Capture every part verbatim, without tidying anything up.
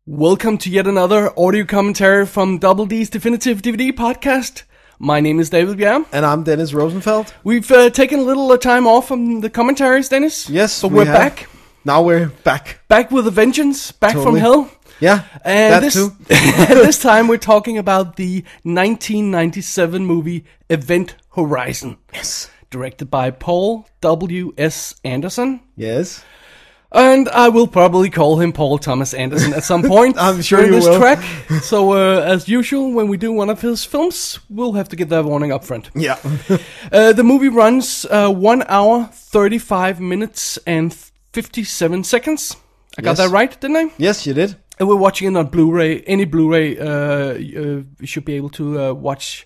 Welcome to yet another audio commentary from Double D's Definitive D V D podcast. My name is David Bjerre. And I'm Dennis Rosenfeld. We've uh, taken a little uh, time off from the commentaries, Dennis. Yes, but we we're have. back. Now we're back. Back with a vengeance. Back Totally. from hell. Yeah, And that this, too. this time we're talking about the nineteen ninety-seven movie Event Horizon. Yes. Directed by Paul W S Anderson. Yes. And I will probably call him Paul Thomas Anderson at some point I'm sure during you this will. track. So, uh, as usual, when we do one of his films, we'll have to get that warning up front. Yeah. Uh, the movie runs uh, one hour, thirty-five minutes, and fifty-seven seconds. I got Yes. that right, didn't I? Yes, you did. And we're watching it on Blu-ray. Any Blu-ray, uh, uh, you should be able to uh, watch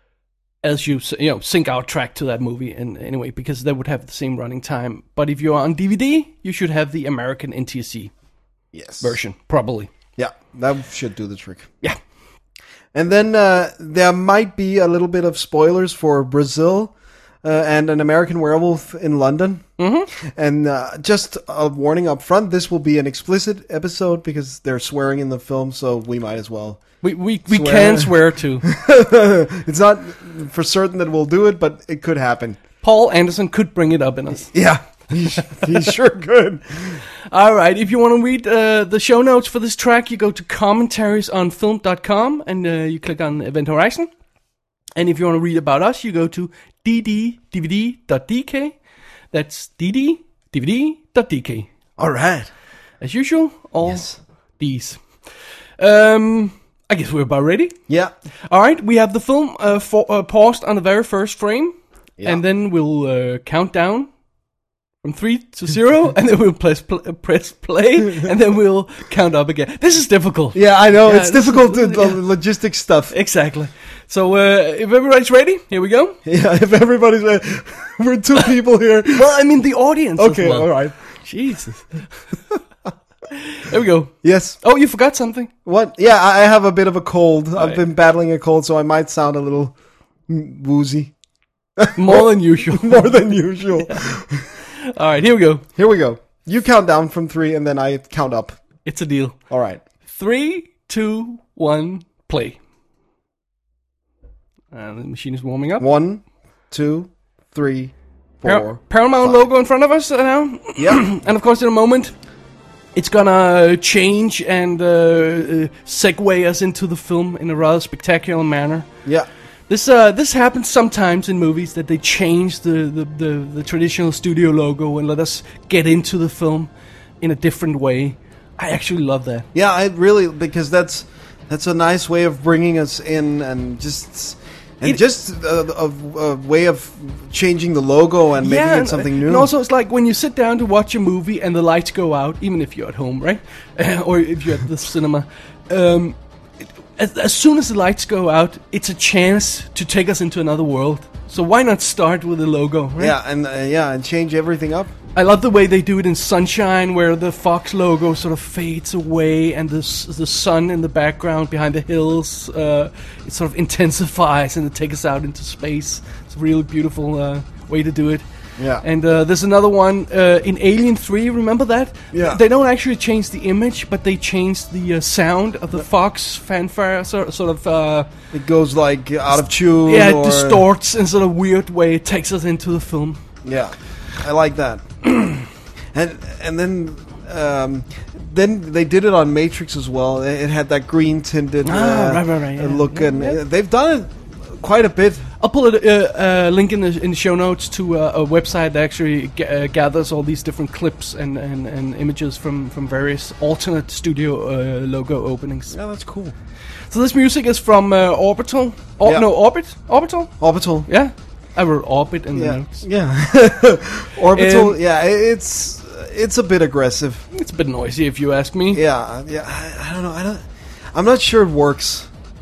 as you you know sync our track to that movie. And anyway, because they would have the same running time. But if you're on D V D, you should have the American N T S C Yes. version, probably. Yeah, that should do the trick. Yeah. And then uh, there might be a little bit of spoilers for Brazil uh, and An American Werewolf in London. Mm-hmm. And uh, just a warning up front, this will be an explicit episode because they're swearing in the film, so we might as well. We we, we Swear. can swear to. It's not for certain that we'll do it, but it could happen. Paul Anderson could bring it up in us. Yeah, he, he sure could. All right, if you want to read uh, the show notes for this track, you go to commentaries on film dot com and uh, you click on Event Horizon. And if you want to read about us, you go to d d d v d dot d k. That's d d d v d dot d k. All right. As usual, all Yes. D's. Um, I guess we're about ready. Yeah. All right, we have the film uh, for, uh, paused on the very first frame, Yeah. and then we'll uh, count down from three to zero, and then we'll press pl- uh, press play, and then we'll count up again. This is difficult. Yeah, I know. Yeah, it's this difficult is- to the yeah. logistics stuff. Exactly. So uh, if everybody's ready, here we go. Yeah, if everybody's ready. We're two people here. Well, I mean the audience. Okay, as well. all right. Jesus. There we go. Yes. Oh, you forgot something. What? Yeah, I I have a bit of a cold. I've Right. been battling a cold, so I might sound a little mm, woozy. More than usual. More than usual. All right, here we go. Here we go. You count down from three, and then I count up. It's a deal. All right. Three, two, one, play. And the machine is warming up. One, two, three, Par- four. Paramount five. logo in front of us uh, now. Yeah. And of course, in a moment, it's gonna change and uh, uh, segue us into the film in a rather spectacular manner. Yeah. This uh, this happens sometimes in movies that they change the, the, the, the traditional studio logo and let us get into the film in a different way. I actually love that. Yeah, I really because that's that's a nice way of bringing us in and just and It- just a, a, a way of changing the logo and making and- it something new. And also, it's like when you sit down to watch a movie and the lights go out, even if you're at home, right? Or if you're at the cinema. Um, it- as, as soon as the lights go out, it's a chance to take us into another world. So why not start with the logo, right? Yeah, and uh, yeah, and change everything up. I love the way they do it in Sunshine, where the Fox logo sort of fades away, and the s- the sun in the background behind the hills, uh, it sort of intensifies and it takes us out into space. It's a really beautiful uh, way to do it. Yeah. And uh, there's another one uh, in Alien three. Remember that? Yeah. They don't actually change the image, but they change the uh, sound of the Fox fanfare, sort sort of. Uh, It goes like out of tune. yeah, it or, distorts in sort of weird way. It takes us into the film. Yeah, I like that. and and then um, then they did it on Matrix as well. It it had that green tinted uh, Ah, right, right, right, yeah. look, Yeah, and yeah. uh, they've done it quite a bit. I'll pull a uh, uh, link in the in the show notes to uh, a website that actually g- uh, gathers all these different clips and, and, and images from, from various alternate studio uh, logo openings. Yeah, that's cool. So this music is from uh, Orbital. Or, Yeah. No, Orbit? Orbital? Orbital. Yeah. I wrote Orbit in the Yeah, notes. yeah. Orbital. Um, yeah, i- it's it's a bit aggressive. It's a bit noisy if you ask me. Yeah, yeah. I, I don't know. I don't. I'm not sure it works.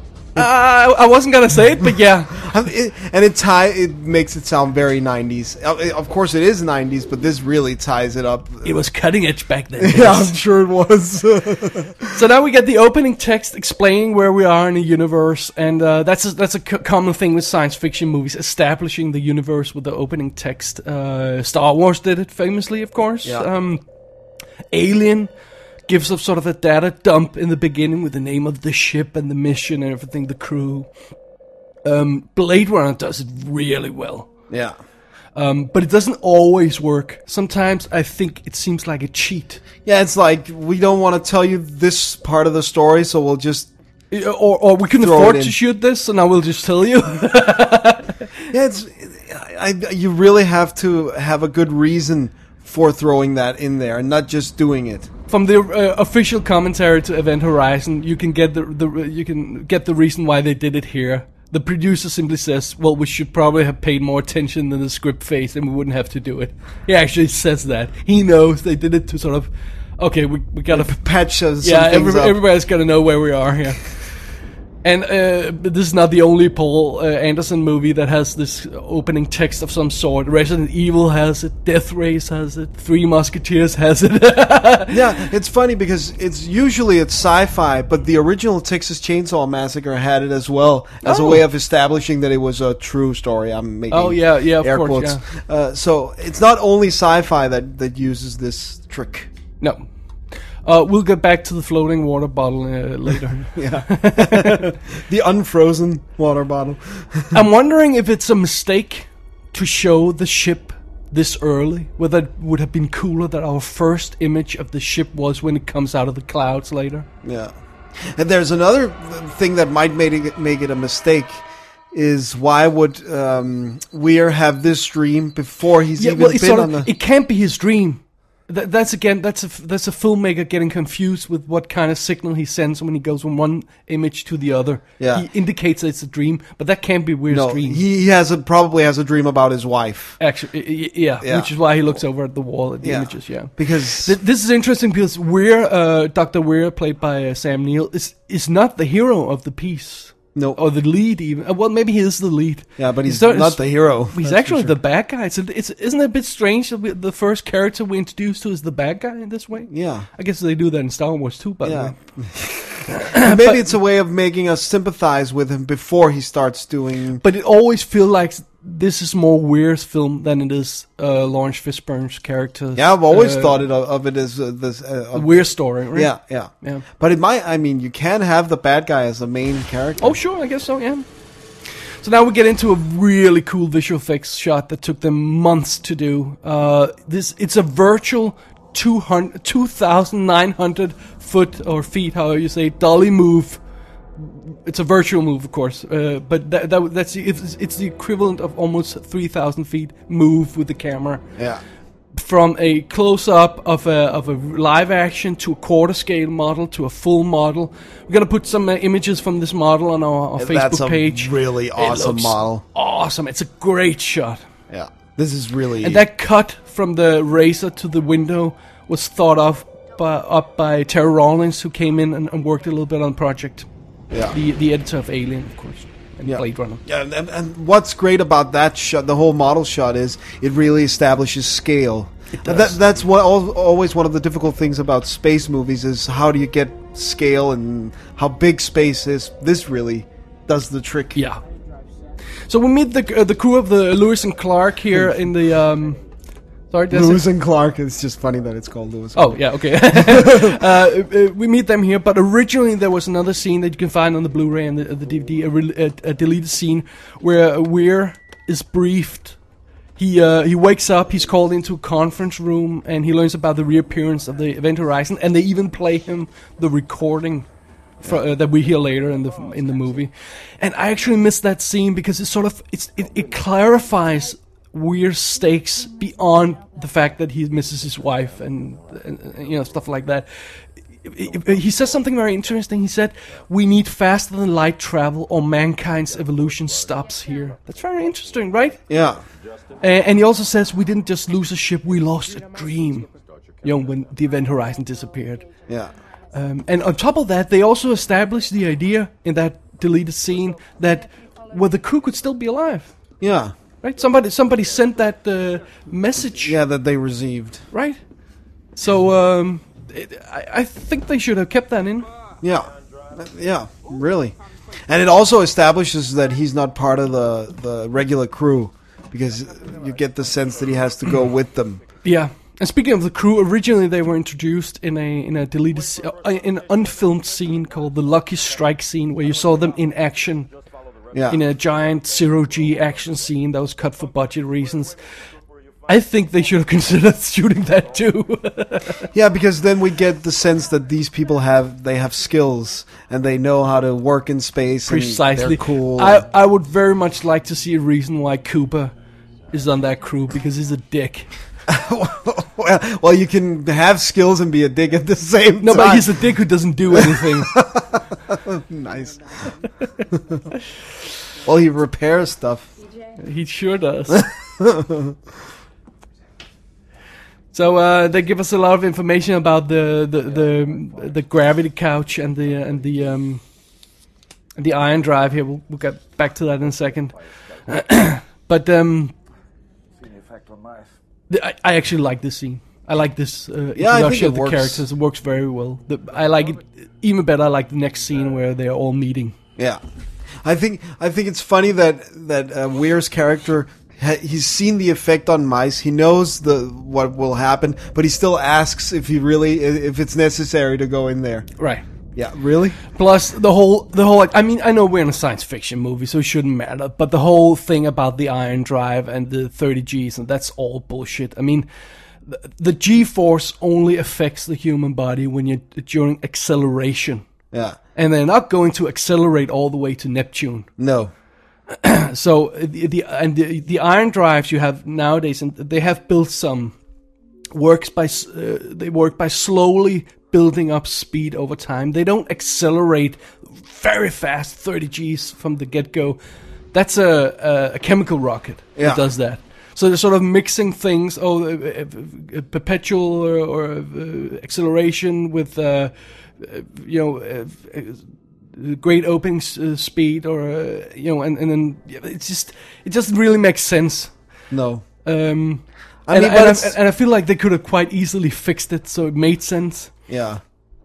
Uh, I wasn't gonna say it, but yeah. I'm- it, and it tie it makes it sound very nineties. Uh, it- Of course, it is nineties, but this really ties it up. It was cutting edge back then. Yeah, I'm sure it was. So now we get the opening text explaining where we are in the universe, and uh, that's a, that's a c- common thing with science fiction movies, establishing the universe with the opening text. Uh, Star Wars did it famously, of course. Yeah. Um, Alien gives us sort of a data dump in the beginning with the name of the ship and the mission and everything, the crew. Um, Blade Runner does it really well. Yeah. Um, but it doesn't always work. Sometimes I think it seems like a cheat. Yeah, it's like, we don't want to tell you this part of the story, so we'll just... Or, or we can Throw afford it in. to shoot this, so now we'll just tell you. Yeah, it's... I, you really have to have a good reason for throwing that in there, and not just doing it. From the uh, official commentary to Event Horizon, you can get the, the you can get the reason why they did it here. The producer simply says, well, we should probably have paid more attention than the script phase, and we wouldn't have to do it. He actually says that. He knows they did it to sort of, okay, we we gotta... Patch uh, some yeah, things every, up. everybody's gotta know where we are here. And uh, this is not the only Paul uh, Anderson movie that has this opening text of some sort. Resident Evil has it, Death Race has it, Three Musketeers has it. Yeah, it's funny because it's usually it's sci-fi, but the original Texas Chainsaw Massacre had it as well as Oh. a way of establishing that it was a true story. I'm making Oh, yeah, yeah, of air course, quotes. Uh, so it's not only sci-fi that, that uses this trick. No. Uh, we'll get back to the floating water bottle uh, later. Yeah, the unfrozen water bottle. I'm wondering if it's a mistake to show the ship this early. Whether it would have been cooler that our first image of the ship was when it comes out of the clouds later. Yeah, and there's another thing that might make it make it a mistake. Is why would um, Weir have this dream before he's Yeah, even well, it's been sort on of, the? it can't be his dream. That, that's again, that's a that's a filmmaker getting confused with what kind of signal he sends when he goes from one image to the other. Yeah. He indicates that it's a dream, but that can't be Weir's No, dream. he he has a probably has a dream about his wife. Actually, y- y- yeah, Yeah. which is why he looks over at the wall at the Yeah. images. Yeah, Because Th- this is interesting because Weir, uh, Doctor Weir, played by uh, Sam Neill, is is not the hero of the piece. no, Or the lead, even. Uh, well, maybe he is the lead. yeah, but he's not- not the hero. He's That's for actually sure. the bad guy. It's, it's isn't it a bit strange that we, the first character we introduced to is the bad guy in this way? Yeah, I guess they do that in Star Wars too, by the yeah. way. Maybe it's a way of making us sympathize with him before he starts doing. But it always feels like this is more Weir's film than it is uh, Lawrence Fishburne's character. Yeah, I've always uh, thought it of, of it as uh, this. Uh, a of- Weir story, right? Yeah, yeah, Yeah. But it might. I mean, you can have the bad guy as the main character. Oh, sure, I guess so, yeah. So now we get into a really cool visual effects shot that took them months to do. Uh, this It's a virtual two hundred, two thousand nine hundred foot or feet, however you say, dolly move. It's a virtual move, of course, uh, but that, that that's the, it's, it's the equivalent of almost three thousand feet move with the camera. Yeah. From a close-up of a of a live action to a quarter scale model to a full model. We're gonna put some uh, images from this model on our, our Facebook That's a page. really It awesome looks model. Awesome! It's a great shot, Yeah, this is really. and that cut from the razor to the window was thought of by, up by Terry Rawlings, who came in and, and worked a little bit on the project. Yeah. The the editor of Alien, of course, and Yeah. Blade Runner. Yeah, and, and what's great about that shot, the whole model shot, is it really establishes scale. It And does. That, that's what al- always one of the difficult things about space movies is how do you get scale and how big space is. This really does the trick. Yeah. So we meet the uh, the crew of the Lewis and Clark here in the. Um, sorry, did I say- Lewis and Clark. It's just funny that it's called Lewis. Oh, yeah, okay. uh, uh, we meet them here, but originally there was another scene that you can find on the Blu-ray and the, the D V D, a, re- a, a deleted scene where Weir is briefed. He uh, he wakes up, he's called into a conference room, and he learns about the reappearance of the Event Horizon, and they even play him the recording for, uh, that we hear later in the in the movie. And I actually missed that scene because it sort of it's it, it clarifies Weir's stakes beyond the fact that he misses his wife and, and, and you know stuff like that. He says something very interesting. He said, "We need faster than light travel, or mankind's evolution stops here." That's very interesting, right? Yeah. Uh, and he also says, "We didn't just lose a ship; we lost a dream." You know, when the Event Horizon disappeared. Yeah. Um, and on top of that, they also established the idea in that deleted scene that well, the crew could still be alive. Yeah. Right? Somebody somebody sent that uh, message. Yeah, that they received. Right? So um, it, I, I think they should have kept that in. Yeah. Yeah, really. And it also establishes that he's not part of the, the regular crew because you get the sense that he has to go with them. Yeah, And speaking of the crew, originally they were introduced in a in a deleted, s- uh, in an unfilmed scene called the Lucky Strike scene, where you saw them in action Yeah. in a giant zero G action scene that was cut for budget reasons. I think they should have considered shooting that too. Yeah, because then we get the sense that these people have they have skills and they know how to work in space. Precisely. And they're cool. I I would very much like to see a reason why Cooper is on that crew, because he's a dick. well, well, you can have skills and be a dick at the same No, time. but he's a dick who doesn't do anything. Nice. Well, he repairs stuff. He sure does. So uh, they give us a lot of information about the the the, the gravity couch and the and the um, the iron drive. Here, we'll, we'll get back to that in a second. But um, the, I, I actually like this scene. I like this uh, Yeah, I think introduction it of the works. characters. It works very well. The, I like it even better. I like the next scene where they're all meeting. Yeah, I think I think it's funny that that uh, Weir's character ha- he's seen the effect on mice. He knows the what will happen, but he still asks if he really if it's necessary to go in there. Right. Yeah, really? Plus the whole, the whole. I mean, I know we're in a science fiction movie, so it shouldn't matter. But the whole thing about the iron drive and the thirty G's, and that's all bullshit. I mean, the, the G-force only affects the human body when you're during acceleration, Yeah. and they're not going to accelerate all the way to Neptune. No. So the, the and the, the iron drives you have nowadays, and they have built some works by s- uh, they work by slowly building up speed over time. They don't accelerate very fast, thirty G's from the get-go. That's a a, a chemical rocket Yeah. that does that. So they're sort of mixing things. Oh, uh, uh, perpetual or, or uh, acceleration with, uh, uh, you know, uh, uh, great opening s- uh, speed, or uh, you know, and and then yeah, it's just it doesn't really make sense. No. Um, I and, mean, and, but I, it's- and I feel like they could have quite easily fixed it so it made sense. Yeah.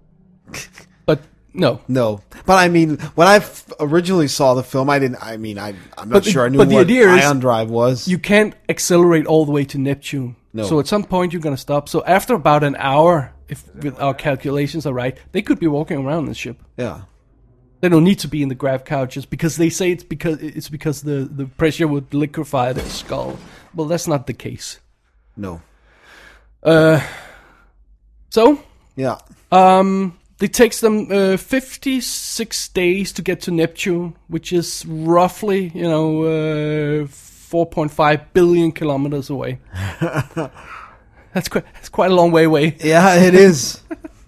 But no. No. But I mean, when I f- originally saw the film, I didn't. I mean, I I'm not But the- sure I knew but the what idea is ion drive was. You can't accelerate all the way to Neptune. No. So at some point you're going to stop. So after about an hour, if with our calculations are right, they could be walking around the ship. Yeah. They don't need to be in the grav couches because they say it's because it's because the, the pressure would liquefy their skull. Well, that's not the case. No. Uh, so Yeah. um, it takes them uh, fifty-six days to get to Neptune, which is roughly, you know, uh, four point five billion kilometers away. That's quite that's quite a long way away. Yeah, it is.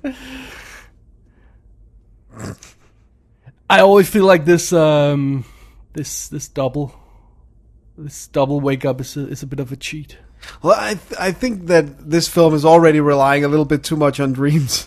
I always feel like this um, this this double this double wake up is a, is a bit of a cheat. Well, I th- I think that this film is already relying a little bit too much on dreams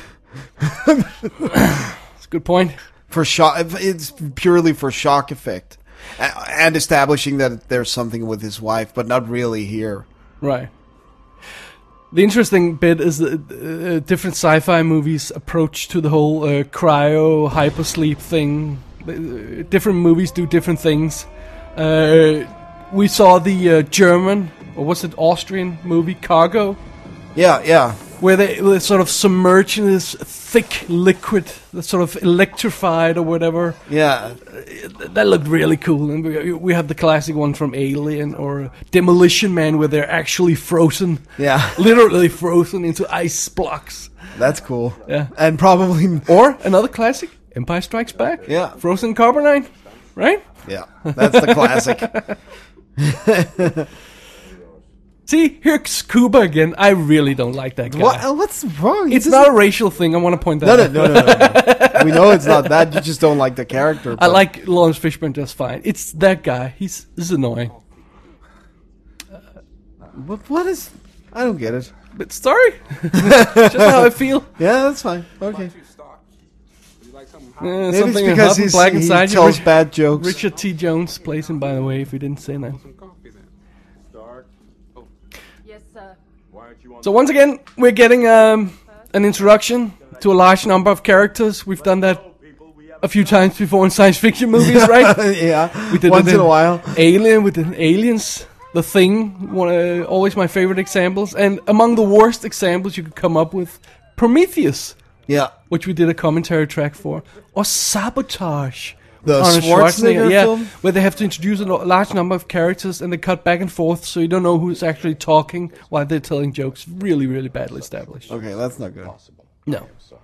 That's a good point. for shock. It's purely for shock effect A- and establishing that there's something with his wife, but not really here. Right. The interesting bit is the uh, different sci-fi movies' approach to the whole uh, cryo hypersleep thing. Uh, different movies do different things. Uh, we saw the uh, German, or was it Austrian movie Cargo, Yeah, yeah. where they were sort of submerged in this thick liquid that's sort of electrified or whatever. Yeah. That looked really cool. And we, we have the classic one from Alien or Demolition Man, where they're actually frozen. Yeah. Literally frozen into ice blocks. That's cool. Yeah. And probably... Or another classic, Empire Strikes Back. Yeah. Frozen carbonite, right? Yeah, that's the classic. See, here's Cuba again. I really don't like that guy. What? What's wrong? He It's doesn't- not a racial thing. I want to point that No, out. no, no, no, no, no. We know it's not that. You just don't like the character. I but- like Lawrence Fishburne just fine. It's that guy. He's this is annoying. What, what is... I don't get it. But sorry, just how I feel. Yeah, that's fine. Okay. Uh, Maybe something it's because hot and he's, black he inside you. tells Rich- bad jokes. Richard T. Jones plays him, by the way, if we didn't say that. Yes, sir. So once again, we're getting um, an introduction to a large number of characters. We've done that a few times before in science fiction movies, right? Yeah, We did once it in a while. Alien with the aliens. The Thing, one, uh, always my favorite examples. And among the worst examples you could come up with, Prometheus, Yeah. which we did a commentary track for, or Sabotage. The Arnold Schwarzenegger yeah, film? where they have to introduce a lo- large number of characters and they cut back and forth, so you don't know who's actually talking while they're telling jokes. Really, really badly established. Okay, that's not good. No.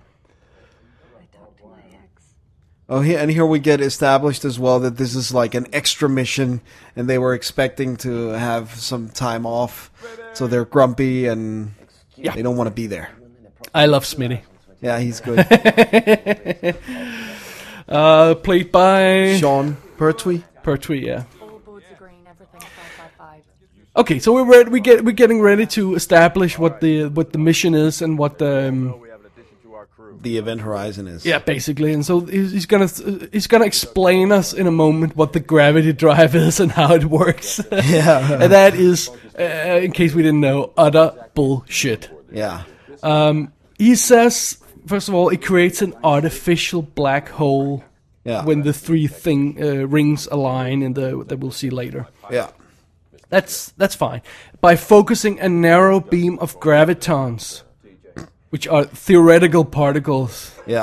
Oh, here, and here we get established as well that this is like an extra mission, and they were expecting to have some time off, so they're grumpy and Yeah. they don't want to be there. I love Smitty. Yeah, he's good. Uh, played by Sean Pertwee. Pertwee, yeah. All boards are green, everything five five five. Okay, so we're ready, we get we're getting ready to establish what the what the mission is and what the um, The Event Horizon is. yeah, basically. And so he's, he's gonna he's gonna explain us in a moment what the gravity drive is and how it works. Yeah. And that is, uh, in case we didn't know, utter bullshit. Yeah. Um, he says, first of all, it creates an artificial black hole Yeah. when the three thing uh, rings align, in the that we'll see later. Yeah. That's that's fine. By focusing a narrow beam of gravitons, which are theoretical particles. Yeah.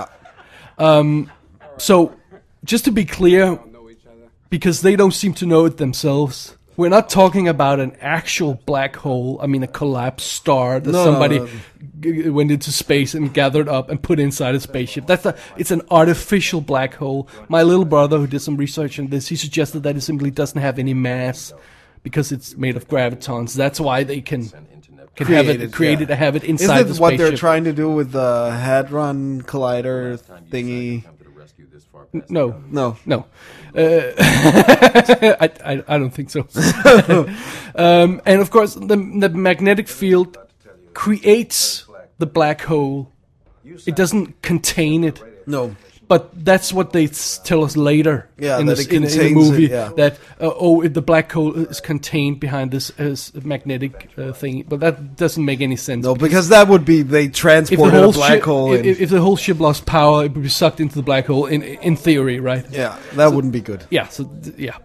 So, just to be clear, because they don't seem to know it themselves, we're not talking about an actual black hole. I mean, a collapsed star that No, somebody no, no. g- went into space and gathered up and put inside a spaceship. That's a, it's an artificial black hole. My little brother, who did some research on this, he suggested that it simply doesn't have any mass because it's made of gravitons. That's why they can can have Create it it, created yeah. to have it inside Isn't the it what spaceship. they're trying to do with the Hadron Collider thingy? No, No. no. Uh, I, I I don't think so. um, and of course, the the magnetic field creates the black hole. It doesn't contain it. No. But that's what they s- tell us later Yeah, in, that the, it in, in the contains movie it, yeah. that uh, oh it, the black hole is contained behind this uh, magnetic uh, thing, but that doesn't make any sense. No, because that would be they if the transported whole a black ship, hole if, in. if the whole ship lost power, it would be sucked into the black hole. In in theory, right? yeah, that wouldn't be good. Yeah. So th- yeah.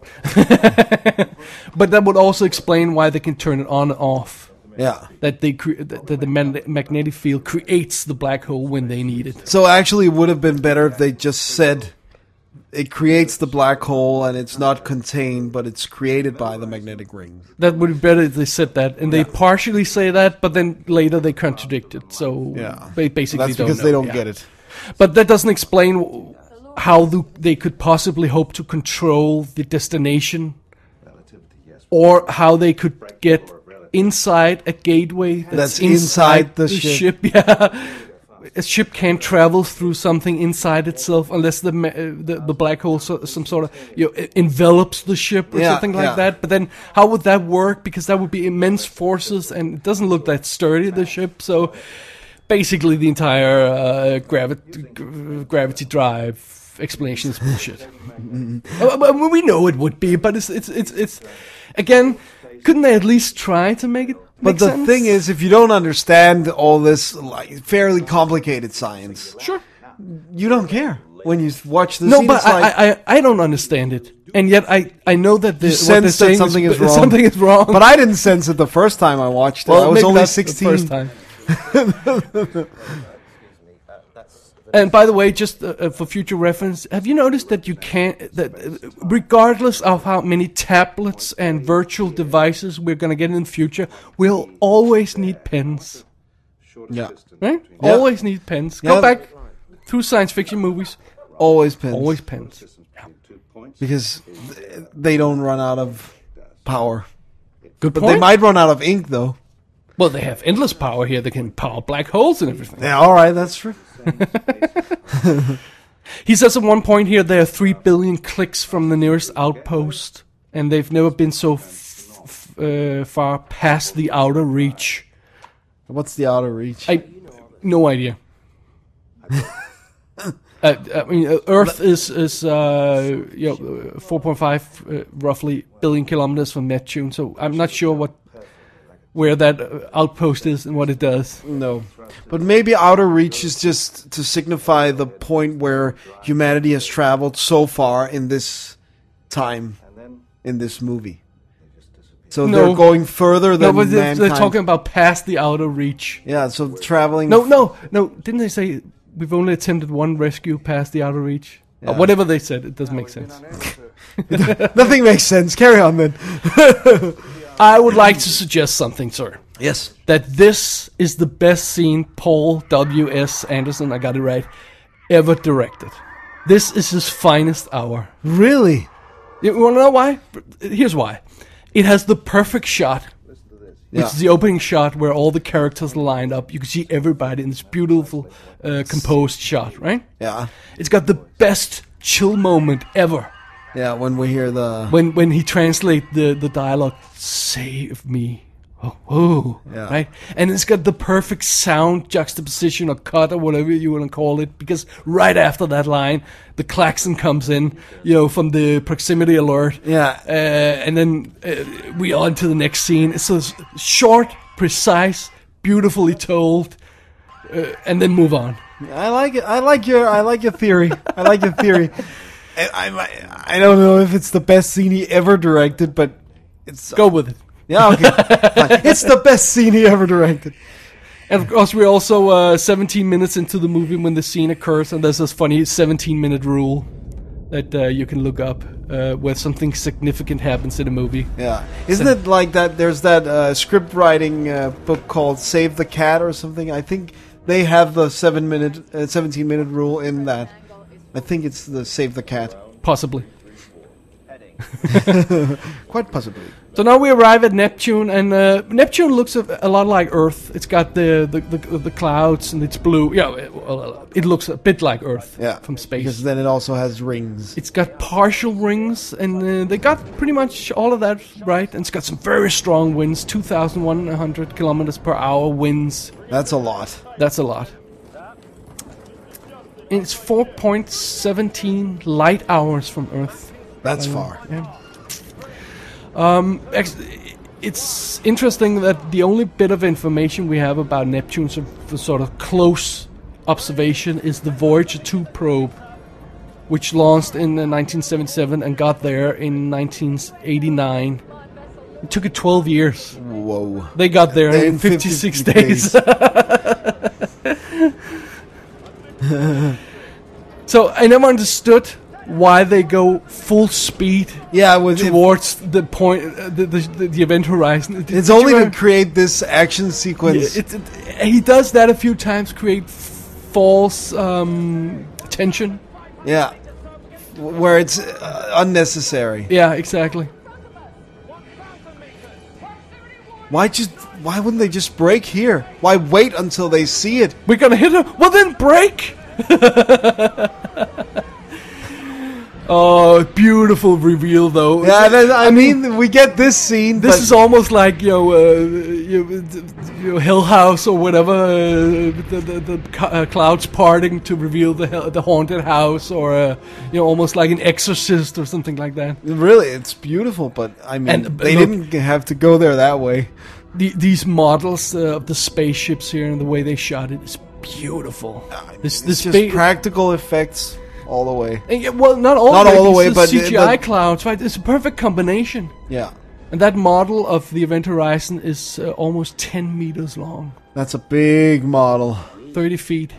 But that would also explain why they can turn it on and off. Yeah. That they cre- that that the man- magnetic field creates the black hole when they need it. So actually, it would have been better if they just said it creates the black hole and it's not contained, but it's created by the magnetic rings. That would be better if they said that, and they partially say that, but then later they contradict it. So Yeah. they basically That's don't because know. they don't Yeah. get it. But that doesn't explain w- how the, they could possibly hope to control the destination, or how they could get inside a gateway that's, That's inside the ship. Yeah, a ship can't travel through something inside itself unless the ma- uh, the, the black hole, so, some sort of you know, e- envelops the ship or Yeah, something like yeah. that. But then, how would that work? Because that would be immense forces, and it doesn't look that sturdy, the ship. So basically, the entire uh, gravity g- gravity drive explanation is bullshit. Uh, but we know it would be, but it's it's it's it's again. Couldn't they at least try to make it? But make the sense? thing is, if you don't understand all this like fairly complicated science, sure. you don't care when you watch the No, scene. but it's I, like, I, I I don't understand it, and yet I, I know that the, you what they're sense that saying something is, is, wrong. Something is wrong. But I didn't sense it the first time I watched it. well, I was maybe only that's sixteen. the first time. And by the way, just uh, uh, for future reference, have you noticed that you can't, that uh, regardless of how many tablets and virtual devices we're going to get in the future, we'll always need pens. Yeah, Right? Yeah. Always need pens. Go Yeah. back through science fiction movies. always pens. Always pens. because th- they don't run out of power. Good But point. they might run out of ink, though. Well, they have endless power here. They can power black holes and everything. Yeah, all right, that's true. He says at one point here there are three billion clicks from the nearest outpost, and they've never been so f- f- uh, far past the outer reach. What's the outer reach? I, no idea. uh, I mean, uh, Earth is is uh, you know four point five uh, roughly billion kilometers from Neptune, so I'm not sure what where that uh, outpost is and what it does. No. But maybe outer reach is just to signify the point where humanity has traveled so far in this time, in this movie. So No. they're going further No, than but they're, mankind. they're talking about past the outer reach. Yeah, so traveling. No, no, no. Didn't they say we've only attempted one rescue past the outer reach? Or Yeah. whatever they said, it doesn't make sense. Nothing makes sense. Carry on then. I would like to suggest something, sir. Yes. That this is the best scene Paul W S. Anderson, I got it right, ever directed. This is his finest hour. Really? You want to know why? Here's why. It has the perfect shot, which Yeah. is the opening shot where all the characters are lined up. You can see everybody in this beautiful, uh, composed shot, right? Yeah. It's got the best chill moment ever. Yeah, when we hear the... When when he translates the, the dialogue, save me. Oh, oh, Yeah. right? And it's got the perfect sound juxtaposition or cut or whatever you want to call it, because right after that line, the klaxon comes in, you know, from the proximity alert. Yeah. Uh, and then uh, we are on to the next scene. It's so short, precise, beautifully told, uh, and then move on. I like it. I like your. I like your theory. I like your theory. I, I, I don't know if it's the best scene he ever directed, but it's. Go with it. Yeah, okay. Fine. It's the best scene he ever directed. And of course, we're also uh, seventeen minutes into the movie when the scene occurs, and there's this funny seventeen-minute rule that uh, you can look up uh, where something significant happens in a movie. Yeah. Isn't it like that? There's that uh, script writing uh, book called Save the Cat or something. I think they have the seven minute, uh, seventeen minute rule in that. I think it's the Save the Cat. Possibly. Quite possibly. So now we arrive at Neptune, and uh, Neptune looks a, a lot like Earth. It's got the the, the, the clouds, and it's blue. Yeah, it, well, it looks a bit like Earth Yeah. from space. Because then it also has rings. It's got partial rings, and uh, they got pretty much all of that right. And it's got some very strong winds, two thousand one hundred kilometers per hour winds. That's a lot. That's a lot. And it's four point one seven light hours from Earth. That's far. Yeah. Um, ex- it's interesting that the only bit of information we have about Neptune, so for sort of close observation, is the Voyager two probe, which launched in uh, nineteen seventy-seven and got there in nineteen eighty-nine. It took it twelve years. Whoa. They got there In in fifty-six fifty days. So I never understood why they go full speed Yeah, with it, towards the point, uh, the, the the event horizon. Did- it's did only you to ever- create this action Yeah, sequence. it, it, he does that a few times, create f- false um, tension. Yeah. W- Where it's uh, unnecessary. Yeah, exactly. Why just? Why wouldn't they just break here? Why wait until they see it? We're gonna hit him. Well, then break. Oh, beautiful reveal though. Yeah, that, I, mean, we get this scene. This but is almost like you know, uh, you, you know, Hill House or whatever. Uh, the the, the c- uh, clouds parting to reveal the hell- the haunted house, or uh, you know, almost like an Exorcist or something like that. really, it's beautiful. But I mean, And, uh, they look- didn't have to go there that way. The, these models uh, of the spaceships here and the way they shot it is beautiful. This It's this just big. practical effects all the way. and yeah, well, not all Not of it, all the it's way, but C G I the- clouds, right? It's a perfect combination. Yeah, And that model of the Event Horizon is uh, almost ten meters long, that's a big model. thirty feet.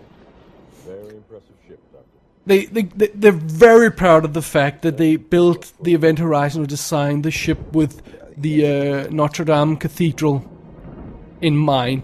They, they, they, they're very proud of the fact that they built the Event Horizon or designed the ship with the uh, Notre Dame Cathedral in mind.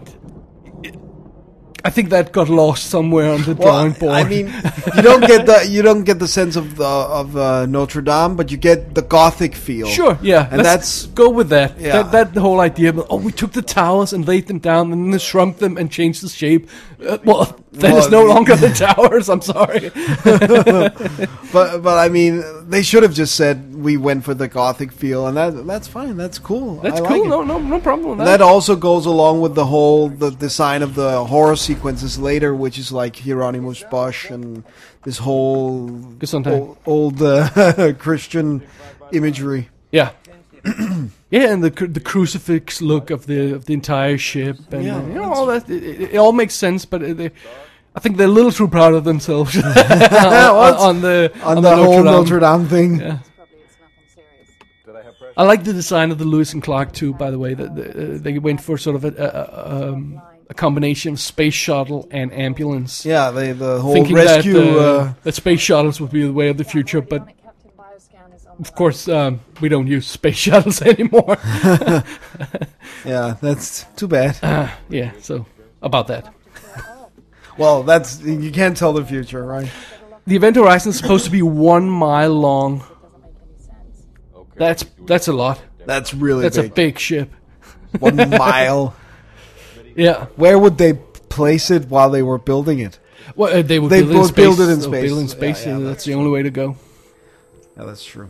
I think that got lost somewhere on the drawing board. I mean, you don't get the you don't get the sense of the of uh, Notre Dame, but you get the Gothic feel. Sure, yeah. And let's that's- go with that. Yeah. That that the whole idea of, oh, we took the towers and laid them down and then shrunk them and changed the shape. Uh, well, that Well, is no the- longer the towers. I'm sorry. But but I mean, they should have just said we went for the Gothic feel, and that that's fine. That's cool. That's I like cool. it. No, no, no problem with And that. that also goes along with the whole the design of the horror sequences later, which is like Hieronymus Bosch and this whole Gesundheit. old, old uh, Christian imagery. Yeah. Yeah, and the cru- the crucifix look of the of the entire ship, and Yeah, uh, you know all that. It, it, it all makes sense, but it, they, I think they're a little too proud of themselves on, on the On, on the, the whole Notre Dame. Notre Dame thing. Yeah. Probably it's nothing serious. I like the design of the Lewis and Clark too. By the way, that the, uh, they went for sort of a, a, um, a combination of space shuttle and ambulance. Yeah, they, the whole Thinking rescue. that, uh, uh, that space shuttles would be the way of the future, but of course um, we don't use space shuttles anymore. yeah, that's too bad. uh, yeah, so about that. Well, that's you can't tell the future, right? The Event Horizon is supposed to be one mile long. That's that's a lot. That's really That's big. a big ship. One mile. Yeah. Where would they place it while they were building it? Well, uh, they would They build, it in would space. build it in They'll space. Build it in space. Yeah, yeah, uh, that's that's the only way to go. Yeah, that's true.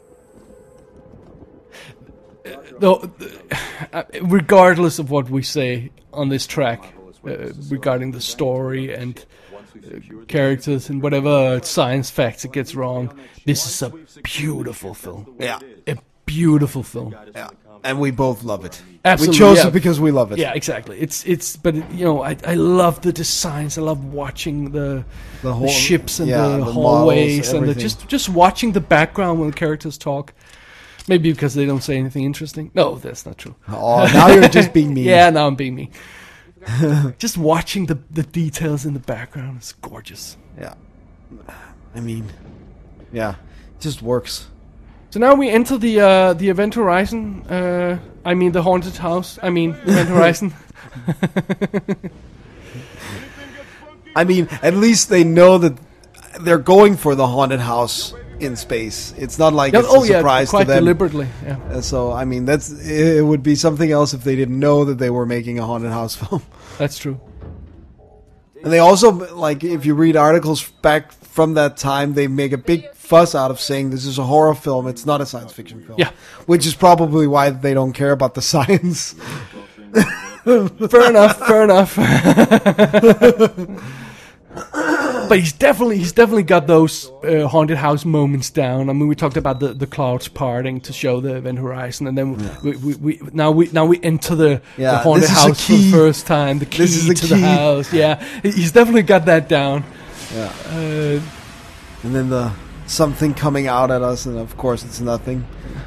Though, uh, regardless of what we say on this track uh, regarding the story and uh, characters and whatever science facts it gets wrong, this is a beautiful film. Yeah, A beautiful film. yeah. And we both love it. Absolutely, we chose yeah. it because we love it. Yeah, exactly. It's it's, but it, you know, I I love the designs. I love watching the The the, whole- ships and yeah, the, the hallways models, and the, everything. just just watching the background when the characters talk. Maybe because they don't say anything interesting. No, that's not true. Oh, now you're just being mean. Yeah, now I'm being me. Just watching the the details in the background is gorgeous. Yeah. I mean, yeah, it just works. So now we enter the uh, the Event Horizon. Uh, I mean the haunted house. I mean Event Horizon. I mean, at least they know that they're going for the haunted house in space. It's not like Yeah, it's oh a yeah, surprise quite to them. deliberately. Yeah. Uh, So I mean, that's it would be something else if they didn't know that they were making a haunted house film. That's true. And they also, like, if you read articles back from that time, they make a big fuss out of saying this is a horror film. It's not a science fiction film. Yeah. Which is probably why they don't care about the science. Fair enough. Fair enough. But he's definitely he's definitely got those uh, haunted house moments down. I mean, we talked about the, the clouds parting to show the Event Horizon, and then we, we, we now we now we enter the, Yeah, the haunted this is a house for the key. first time. The key This is the to key. the house. Yeah, he's definitely got that down. Yeah. Uh, And then the something coming out at us, and of course it's nothing.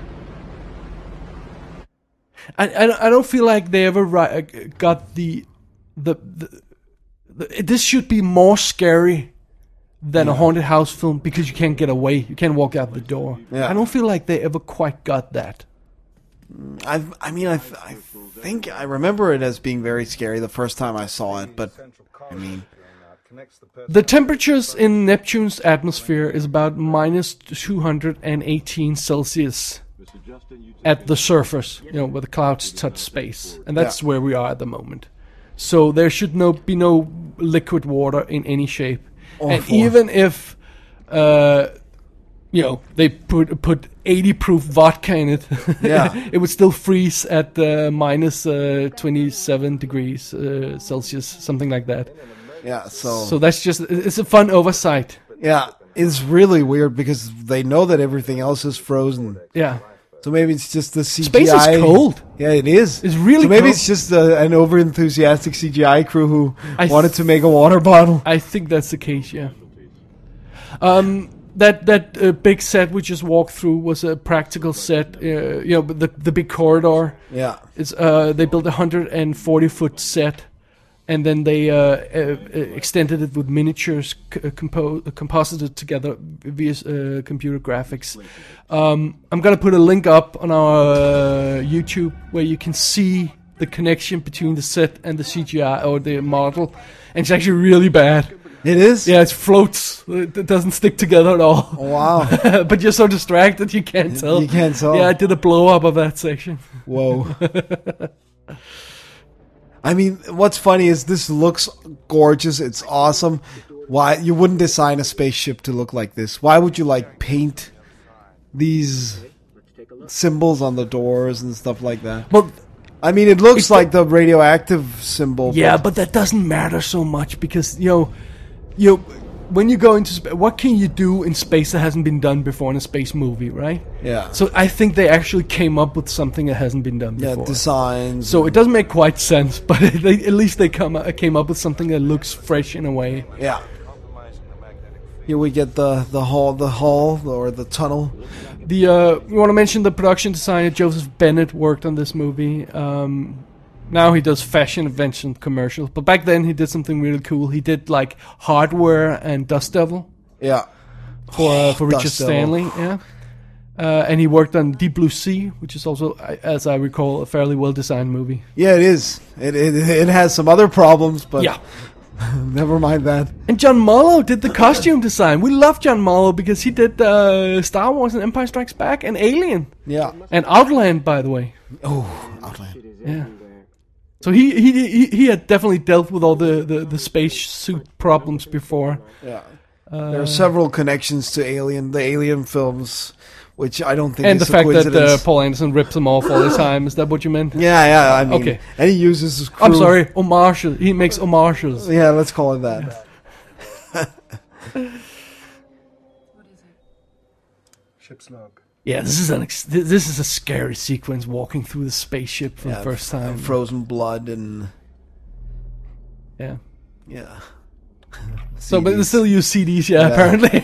I, I I don't feel like they ever ri- got the the, the the this should be more scary than a haunted house film because you can't get away, you can't walk out the door. Yeah. I don't feel like they ever quite got that. I I mean I th- I think I remember it as being very scary the first time I saw it, but I mean The temperatures in Neptune's atmosphere is about minus two hundred eighteen Celsius at the surface, you know, where the clouds touch space, and that's Yeah. where we are at the moment. So there should no be no liquid water in any shape, and Awful. even if, uh, you know, they put put eighty proof vodka in it, Yeah. it would still freeze at uh, minus uh, twenty-seven degrees uh, Celsius, something like that. yeah, so, So that's just, it's a fun oversight. yeah, it's really weird because they know that everything else is frozen. Yeah. So maybe it's just the C G I. Space is cold. Yeah, it is. It's really So maybe cold. it's just uh, an over-enthusiastic C G I crew who I wanted th- to make a water bottle. I think that's the case, yeah. Um, that that uh, big set we just walked through was a practical set. Uh, you know, the the big corridor. Yeah. It's uh they built a hundred forty foot set, and then they uh, uh, uh, extended it with miniatures c- uh, compo- uh, composited together via uh, computer graphics. Um, I'm gonna put a link up on our uh, YouTube where you can see the connection between the set and the C G I or the model, and it's actually really bad. It is? Yeah, it floats. It it doesn't stick together at all. Oh, wow. But you're so distracted you can't tell. You can't tell. Yeah, I did a blow up of that section. Whoa. I mean, what's funny is this looks gorgeous. It's awesome. Why you wouldn't design a spaceship to look like this? Why would you like paint these symbols on the doors and stuff like that? Well, I mean, it looks like the radioactive symbol. yeah, but but that doesn't matter so much because you know, you know, when you go into space, what can you do in space that hasn't been done before in a space movie, right? yeah, So I think they actually came up with something that hasn't been done yeah, before. designs. So it doesn't make quite sense, but they, at least they come uh, came up with something that looks fresh in a way. yeah, Here we get the the hall, the hall or the tunnel. The uh, we want to mention the production designer Joseph Bennett worked on this movie. Um, now he does fashion invention commercials, but back then he did something really cool. He did like Hardware and Dust Devil Yeah. for uh, for Richard Dust Devil. Stanley. Yeah. Uh, and he worked on Deep Blue Sea, which is also, I- as I recall, a fairly well-designed movie. Yeah, it is. It it it has some other problems, but Yeah. never mind that. And John Mollo did the costume design. We love John Mollo because he did uh, Star Wars and Empire Strikes Back and Alien. Yeah. And Outland, by the way. Oh, Outland. Yeah. So he he he, he had definitely dealt with all the, the, the space suit problems before. Yeah. there are several connections to Alien, the Alien films, which I don't think And is the a fact that uh, coincidence. Paul Anderson rips them off all the time. Is that what you meant? Yeah, yeah. I mean, Okay. and he uses his crew. I'm sorry, homages. He makes homages. Yeah, let's call it that. Ship's log. Yeah, this is an ex- th- this is a scary sequence walking through the spaceship for Yeah, the first time. Frozen blood and Yeah. yeah. So, but they C Ds. still use C Ds, yeah, Yeah. apparently.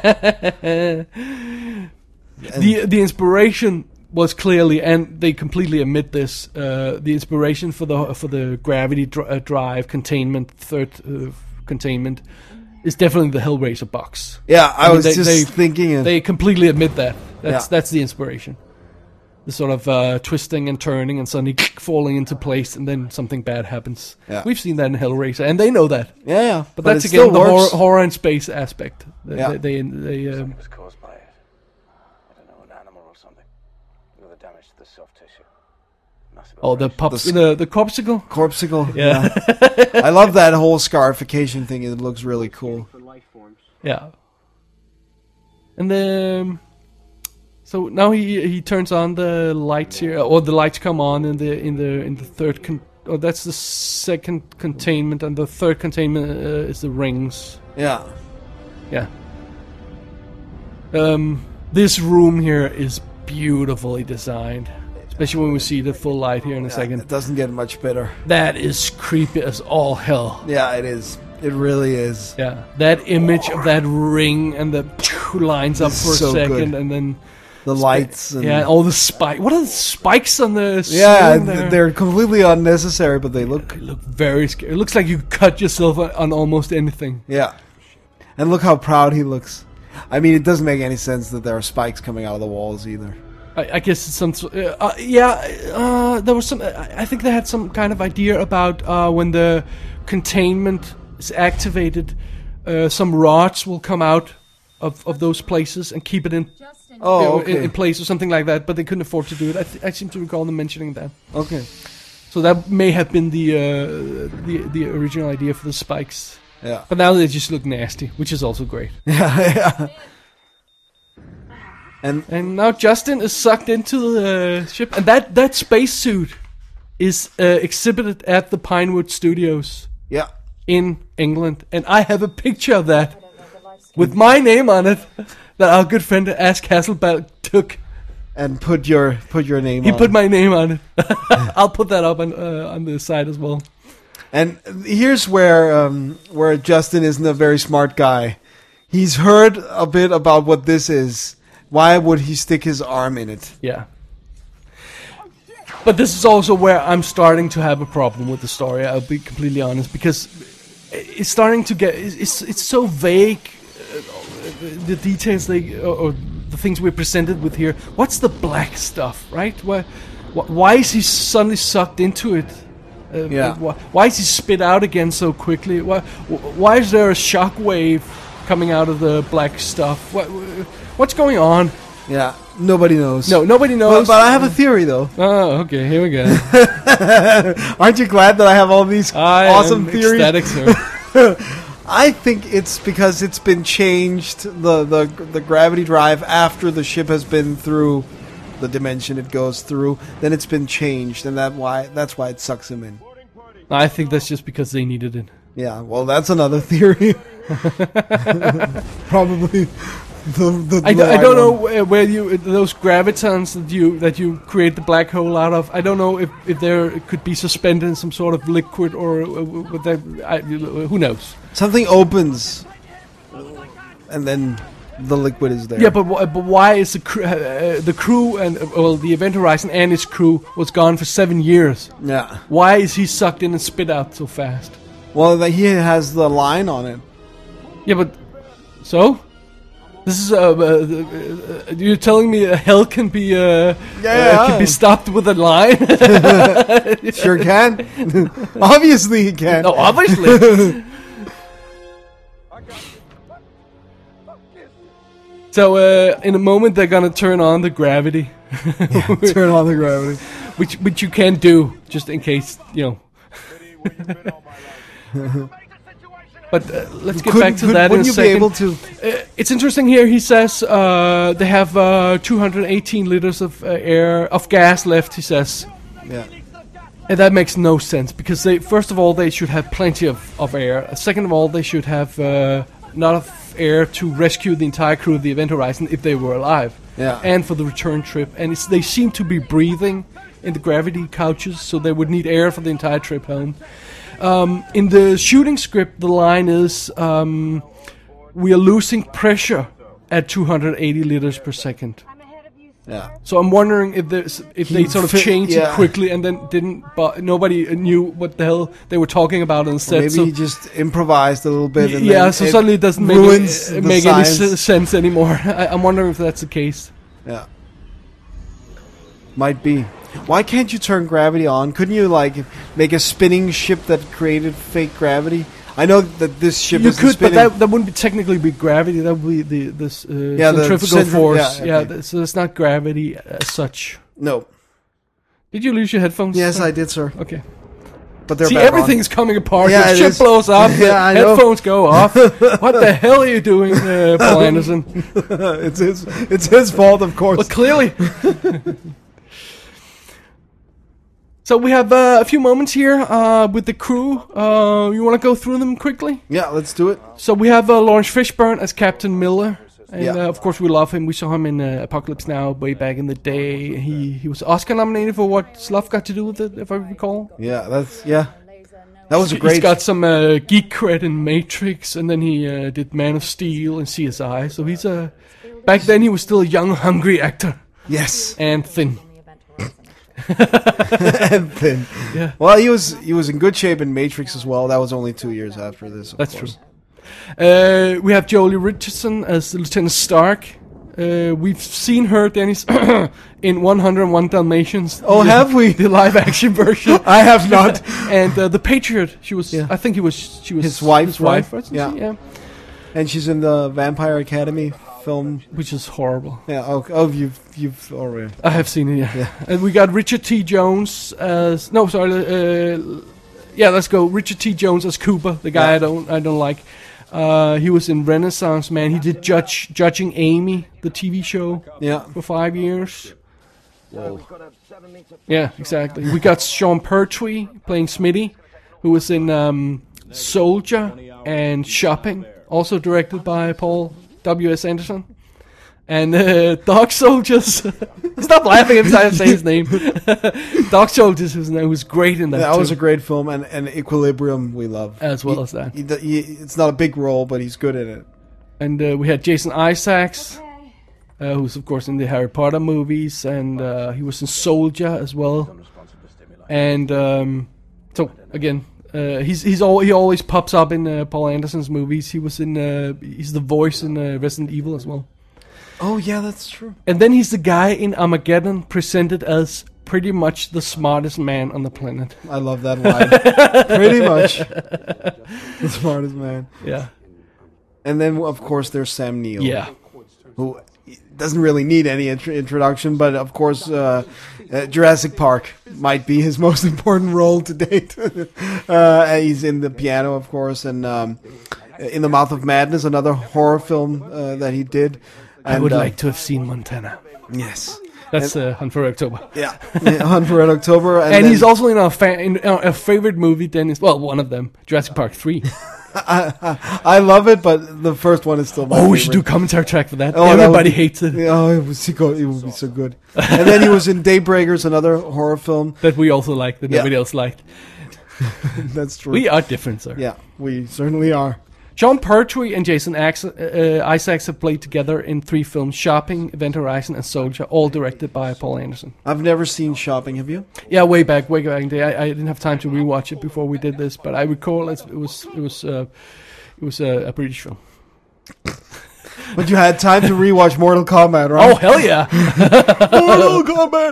And- the the inspiration was clearly, and they completely admit this. Uh, the inspiration for the for the gravity dr- uh, drive containment, third uh, containment, is definitely the Hellraiser box. Yeah, I, I mean, was they- just they- thinking it. They completely admit that. That's Yeah. that's the inspiration. The sort of uh, twisting and turning and suddenly falling into place, and then something bad happens. Yeah. We've seen that in Hellraiser, and they know that. yeah, yeah. But, But, that's it again still the horror, works. horror and space aspect. They, Yeah. they, they, they, um, It was caused by it. I don't know, an animal or something. With the damage to the soft tissue. Massive oh, the operation. pop, The the s- the, corpsicle. Corpsicle. Yeah. I love that whole scarification thing. It looks really cool. For life forms. Yeah. And then, so now he he turns on the lights here, or the lights come on in the in the in the third. Con- oh, that's the second containment, and the third containment uh, is the rings. Yeah. Yeah. Um, this room here is beautifully designed, especially when we see the full light here in a second. It doesn't get much better. That is creepy as all hell. Yeah, it is. It really is. Yeah, that image of that ring and the lines up It's for a so second, good. and then The lights and yeah, all the spike. What are the spikes on the yeah, ceiling th- there? they're completely unnecessary, but they look They look very scary. It looks like you cut yourself on- on almost anything. yeah. And look how proud he looks. I mean, it doesn't make any sense that there are spikes coming out of the walls either. I, I guess it's some. s- Uh, uh, yeah, uh, there was some. I I think they had some kind of idea about uh, when the containment is activated, uh, some rods will come out of, of those places and keep it in, Oh, you know, okay. in, in place or something like that. But they couldn't afford to do it. I, th- I seem to recall them mentioning that. Okay. So that may have been the uh, the the original idea for the spikes. Yeah. But now they just look nasty, which is also great. Yeah, yeah. And And now Justin is sucked into the ship, and that that spacesuit is uh, exhibited at the Pinewood Studios yeah. in England, and I have a picture of that with my name on it that our good friend Ash Hasselbalch took. And put your put your name He on. put my name on it. I'll put that up on uh, on the side as well. And here's where um, where Justin isn't a very smart guy. He's heard a bit about what this is. Why would he stick his arm in it? Yeah. But this is also where I'm starting to have a problem with the story. I'll be completely honest, because it's starting to get it's it's so vague. Uh, the details they or, or the things we're presented with here. What's the black stuff, right? Why wh- why is he suddenly sucked into it? Uh, Yeah. Why, why is he spit out again so quickly? Why wh- why is there a shockwave coming out of the black stuff? What what's going on? Yeah. Nobody knows. No, nobody But, knows. but I have a theory though. Oh, okay. Here we go. Aren't you glad that I have all these I awesome am theories? ecstatic, sir. I think it's because it's been changed the, the the gravity drive after the ship has been through the dimension it goes through. Then it's been changed, and that why that's why it sucks him in. I think that's just because they needed it. Yeah, well, that's another theory. Probably the the. I, d- the I don't right know one. where, where you those gravitons that you that you create the black hole out of. I don't know if, if there it could be suspended in some sort of liquid or uh, what that. I, who knows? Something opens. and then the liquid is there. Yeah, but wh- but why is the crew, uh, the crew and uh, well the Event Horizon and its crew was gone for seven years? Yeah. Why is he sucked in and spit out so fast? Well, the, he has the line on it. Yeah, but so this is uh, uh, uh, you're telling me uh, hell can be uh, Yeah. uh, can be stopped with a line? Sure can. Obviously he can. No, obviously. So uh, in a moment they're gonna turn on the gravity, Turn on the gravity. which which you can do just in case you know. But uh, let's get Couldn't- back to could- that in a wouldn't you be second. able to- Uh, it's interesting here. He says uh, they have uh, two hundred eighteen liters of uh, air of gas left. He says, Yeah. and that makes no sense because they first of all they should have plenty of, of air. Second of all, they should have uh, enough air to rescue the entire crew of the Event Horizon if they were alive. Yeah. And for the return trip, and it's, they seem to be breathing in the gravity couches, so they would need air for the entire trip home. Um, in the shooting script, the line is, um, we are losing pressure at two hundred eighty liters per second. Yeah. So I'm wondering if there's, if they He sort of fi- changed yeah. it quickly and then didn't, but nobody knew what the hell they were talking about on set. Maybe so he just improvised a little bit. And yeah, then so suddenly it doesn't make, ruins any, the make any science. s- sense anymore. I, I'm wondering if that's the case. Yeah. Might be. Why can't you turn gravity on? Couldn't you like make a spinning ship that created fake gravity? I know that this ship You is could, spinning. but that, that wouldn't be technically be gravity. That would be the this uh, Yeah, the centrifugal centri- force. yeah, Yeah, okay. th- so it's not gravity as such. No. Did you lose your headphones? Yes, sir? I did, sir. Okay. But they're See, back on. everything's coming apart. Yeah, the it ship is. blows up. Yeah, the I know. headphones go off. What the hell are you doing, uh, Paul Anderson? it's his. It's his fault, of course. Well, clearly. So we have uh, a few moments here uh, with the crew. Uh, you want to go through them quickly? Yeah, let's do it. So we have uh, Lawrence Fishburne as Captain Miller. And Yeah. uh, of course we love him. We saw him in uh, Apocalypse Now way back in the day. He he was Oscar nominated for what Sluff got to do with it, if I recall. Yeah, that's yeah. That was a He's great. got some uh, geek cred in Matrix, and then he uh, did Man of Steel and C S I. So he's a back then he was still a young, hungry actor Yes. and thin. And thin. Yeah. Well, he was he was in good shape in Matrix as well. That was only two years after this. Of That's course. true. Uh, we have Jolie Richardson as Lieutenant Stark. Uh, we've seen her, Dennis, in one oh one Dalmatians. Oh, the, have we? The live action version. I have not. And uh, the Patriot. She was. Yeah. I think he was. She was His wife, His wife. right? Wasn't Yeah. she? Yeah. And she's in the Vampire Academy film. Which is horrible. Yeah. Oh, oh you've you've already. I have seen it. Yeah. Yeah. And we got Richard T. Jones as. No, sorry. Uh, yeah, let's go. Richard T. Jones as Cooper, the guy Yeah. I don't. I don't like. Uh, he was in Renaissance Man. He did Judge Judging Amy, the T V show, Yeah. for five years. Yeah, exactly. We got Sean Pertwee playing Smitty, who was in um, Soldier and Shopping, also directed by Paul W S. Anderson. And uh, Dog Soldiers. Stop laughing every time I say his name. Dog Soldiers was, was great in that. That too. was a great film, and, and Equilibrium we love As well He- as that. he d- he- it's not a big role, but he's good in it. And uh, we had Jason Isaacs, uh, who's of course in the Harry Potter movies, and uh, he was in Soldier as well. And um, so again, uh, he's he's al- he always pops up in uh, Paul Anderson's movies. He was in uh, he's the voice in uh, Resident Evil as well. Oh yeah, that's true. And then he's the guy in Armageddon presented as pretty much the smartest man on the planet. I love that line. Pretty much the smartest man. Yeah, And then of course there's Sam Neill. yeah. Who doesn't really need any intro- introduction, but of course uh, uh, Jurassic Park might be his most important role to date. uh, he's in the piano, of course, and um, In the Mouth of Madness, another horror film uh, that he did. I And, would uh, like to have seen Montana. Yes. That's uh, Hunt for October. Yeah. yeah Hunt for Red October. And, And then- he's also in our fa- in our, our favorite movie. Dennis, well, one of them, Jurassic Park three. I love it, but the first one is still my Oh, we should do favorite. commentary track for that. Oh, that would Everybody be- hates it. Oh, it was so good. It would be so good. And then he was in Daybreakers, another horror film. That we also like, that Yeah. nobody else liked. That's true. We are different, sir. Yeah, we certainly are. Sean Pertwee and Jason Ax- uh, Isaacs have played together in three films: Shopping, Event Horizon, and Soldier, all directed by Paul Anderson. I've never seen Shopping, have you? Yeah, way back, way back in the day. I, I didn't have time to rewatch it before we did this, but I recall it, it was it was uh, it was uh, a British film. But you had time to rewatch Mortal Kombat, right? Oh hell yeah! Mortal Kombat!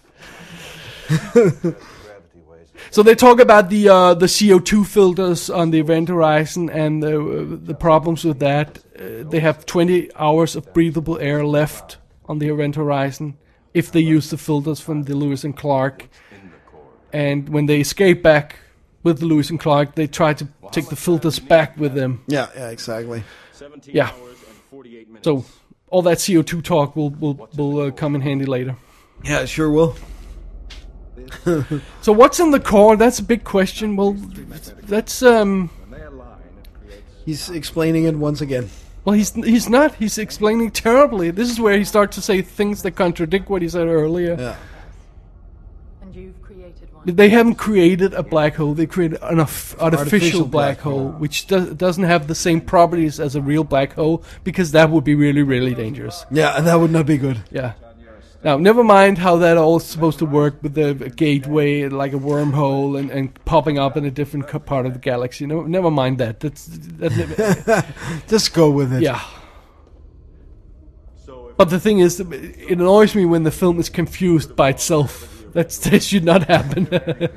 So they talk about the uh, the C O two filters on the Event Horizon and the, uh, the problems with that. Uh, they have twenty hours of breathable air left on the Event Horizon if they use the filters from the Lewis and Clark. And when they escape back with the Lewis and Clark, they try to take the filters back with them. Yeah, yeah, exactly. Yeah. So all that C O two talk will will will uh, come in handy later. Yeah, it sure will. So what's in the core? That's a big question. Well, that's um. He's explaining it once again. Well, he's he's not. He's explaining terribly. This is where he starts to say things that contradict what he said earlier. Yeah. And you've created one. They haven't created a black hole. They created an arf- artificial, Artificial black, black hole, hole. which do- doesn't have the same properties as a real black hole, because that would be really, really dangerous. Yeah, and that would not be good. Yeah. Now, never mind how that all is supposed to work with the gateway, like a wormhole, and, and popping up in a different co- part of the galaxy. No, never mind that. That's that. Just go with it. Yeah. But the thing is, it annoys me when the film is confused by itself. That's, that should not happen.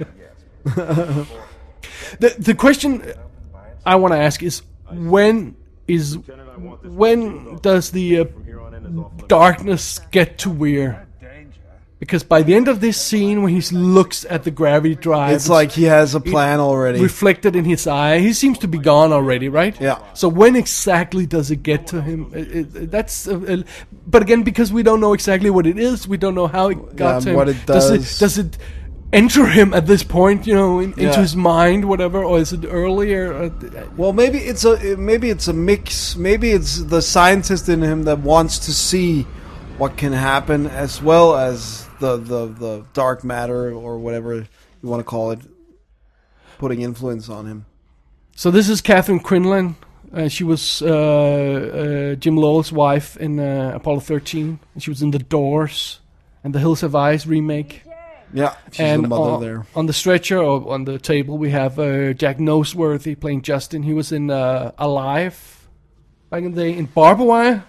the the question I want to ask is, when is when does the uh, darkness get to Weir? Because by the end of this scene, when he looks at the gravity drive, It's like he has a plan already. reflected in his eye. He seems to be gone already, right? Yeah. So when exactly does it get to him? It, it, that's, uh, uh, but again, because we don't know exactly what it is, we don't know how it got Yeah, to him. what it does. does. it does it enter him at this point? You know, in, into Yeah. his mind, whatever, or is it earlier? Uh, Well, maybe it's a maybe it's a mix. Maybe it's the scientist in him that wants to see what can happen, as well as the the, the dark matter or whatever you want to call it, putting influence on him. So this is Catherine Quinlan. Uh, she was uh, uh, Jim Lowell's wife in uh, Apollo thirteen. She was in The Doors and the Hills Have Eyes remake. Yeah, she's and the mother on, there. on the stretcher or on the table we have uh, Jack Noseworthy playing Justin. He was in uh, Alive back in the day, in Barbed Wire.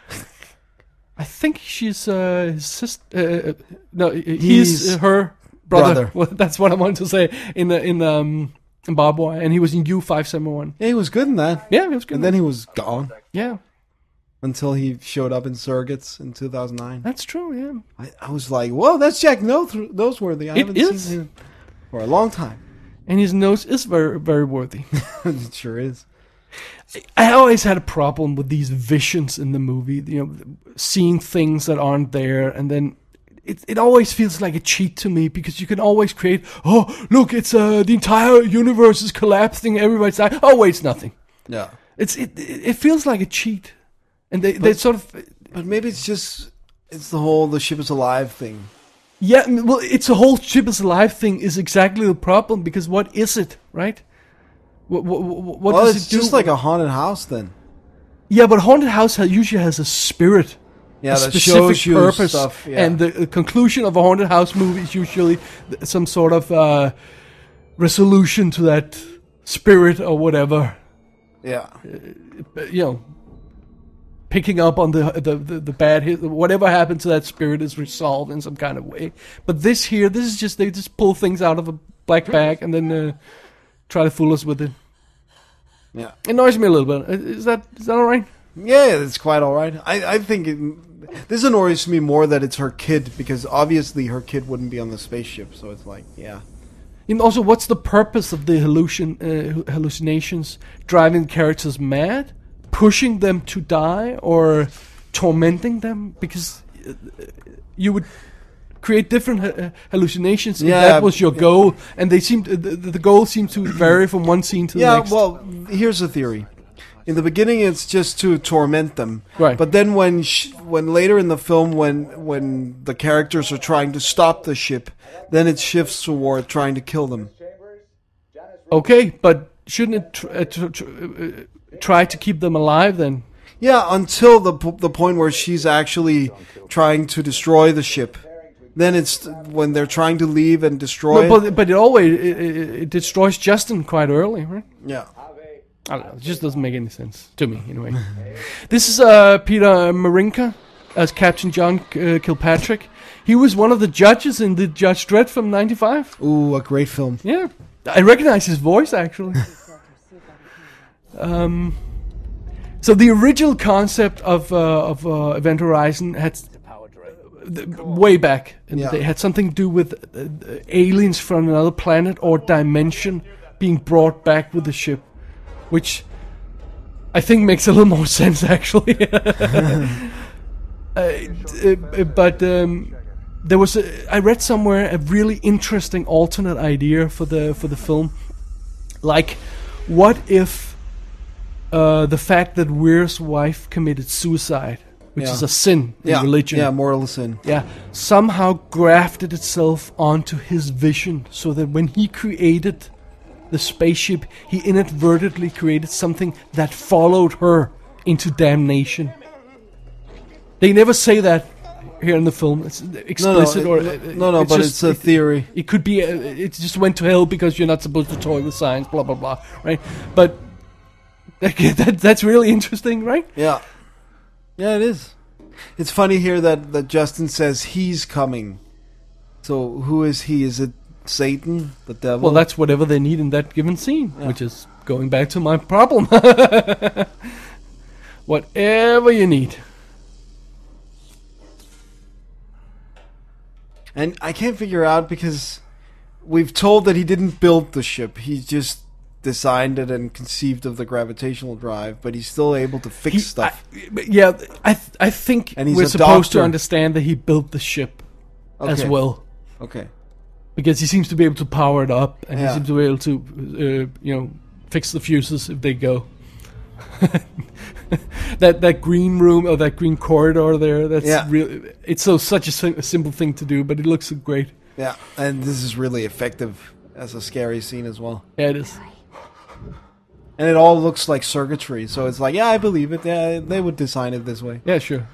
I think she's uh, his sister. Uh, uh, no, he's, He's uh, her brother. brother. Well, that's what I wanted to say. In the, in um in Barbed Wire, and he was in U five seventy-one. Yeah, he was good in that. Yeah, he was good. And then he was gone yeah, until he showed up in Surrogates in two thousand nine. that's true. Yeah. I, I was like, whoa, that's Jack Noth- Noseworthy. I It haven't is. seen him for a long time. And his nose is very, very worthy. It sure is. I always had a problem with these visions in the movie, you know, seeing things that aren't there, and then it it always feels like a cheat to me, because you can always create, oh, look, it's uh, the entire universe is collapsing, everybody's dying. Oh, wait, it's nothing. Yeah. It's it it it feels like a cheat, and they they sort of But maybe it's just, it's the whole the ship is alive thing. yeah, well, it's a whole ship is alive thing is exactly the problem, because what is it, right? What what, what Well, does it's it do? just like a haunted house then. Yeah, but haunted house has, usually has a spirit, Yeah, a that specific shows you purpose, stuff. Yeah. and the uh, conclusion of a haunted house movie is usually th- some sort of uh, resolution to that spirit or whatever. yeah. Uh, You know, picking up on the the the, the bad hit, whatever happened to that spirit is resolved in some kind of way. But this here, this is just they just pull things out of a black bag and then uh, try to fool us with it. Yeah. It annoys me a little bit. Is that is that all right? Yeah, it's quite all right. I, I think it, this annoys me more that it's her kid, because obviously her kid wouldn't be on the spaceship. So it's like, yeah. And also, what's the purpose of the hallucin uh, hallucinations? Driving the characters mad, pushing them to die, or tormenting them? Because uh, you would create different uh, hallucinations if Yeah, that was your goal, and they seem to, the, the goal seems to vary from one scene to the Yeah, next. well, here's the theory. In the beginning, it's just to torment them. Right. But then when sh- when later in the film, when when the characters are trying to stop the ship, then it shifts toward trying to kill them. Okay, but shouldn't it tr- uh, tr- tr- uh, try to keep them alive then? Yeah, until the p- the point where she's actually trying to destroy the ship. Then it's when they're trying to leave and destroy. No, it. but but it always it, it, it destroys Justin quite early, right? Yeah. I don't know. It just doesn't make any sense to me, anyway. This is uh, Peter Marinka as Captain John uh, Kilpatrick. He was one of the judges in the Judge Dredd from ninety-five. Ooh, a great film. Yeah, I recognize his voice actually. um, so the original concept of uh, of uh, Event Horizon had uh, way back, and Yeah. they had something to do with uh, aliens from another planet or dimension being brought back with the ship, which I think makes a little more sense actually. uh, uh, but um, there was a, I read somewhere a really interesting alternate idea for the for the film. Like, what if uh, the fact that Weir's wife committed suicide, which Yeah. is a sin in Yeah. religion, Yeah, mortal sin. yeah, somehow grafted itself onto his vision, so that when he created the spaceship, he inadvertently created something that followed her into damnation. They never say that here in the film. It's explicit no, or it- uh, no, no, it's but just- it's a it- theory. It could be uh, it just went to hell because you're not supposed to toy with science, blah blah blah, right? But that, that's really interesting, right? Yeah. Yeah, it is. It's funny here that, that Justin says he's coming. So who is he? Is it Satan, the devil? Well, that's whatever they need in that given scene, Yeah. which is going back to my problem. Whatever you need. And I can't figure out because we've told that he didn't build the ship. He just designed it and conceived of the gravitational drive, but he's still able to fix He- stuff. I, yeah, I th- I think And he's we're a supposed to doctor. understand that he built the ship as Okay. well, Okay. because he seems to be able to power it up, and Yeah. he seems to be able to, uh, you know, fix the fuses if they go. that that green room or that green corridor there, that's Yeah. really, it's so such a, sim- a simple thing to do, but it looks so great. Yeah, and this is really effective as a scary scene as well. Yeah, it is. And it all looks like circuitry, so it's like, yeah, I believe it. Yeah, they would design it this way. Yeah, sure.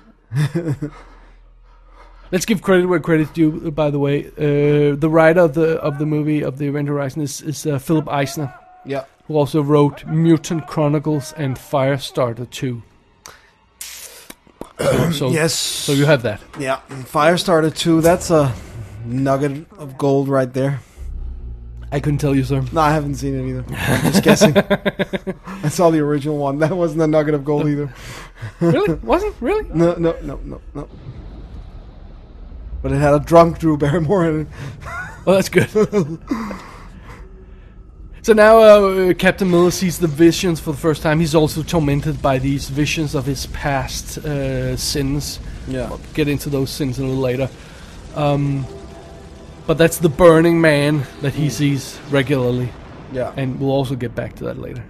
Let's give credit where credit's due. By the way, uh, the writer of the of the movie of the Event Horizon is is uh, Philip Eisner, Yeah. who also wrote Mutant Chronicles and Firestarter two. So, so, Yes. so you have that. Yeah, Firestarter two, that's a nugget of gold right there. I couldn't tell you, sir. No, I haven't seen it either. I'm just guessing. I saw the original one. That wasn't a nugget of gold either. Really? Wasn't? Really? No, no, no, no, no. But it had a drunk Drew Barrymore in it. Well, that's good. So now uh, Captain Miller sees the visions for the first time. He's also tormented by these visions of his past uh, sins. Yeah. We'll get into those sins a little later. Um, but that's the burning man that he sees regularly. Yeah. And we'll also get back to that later.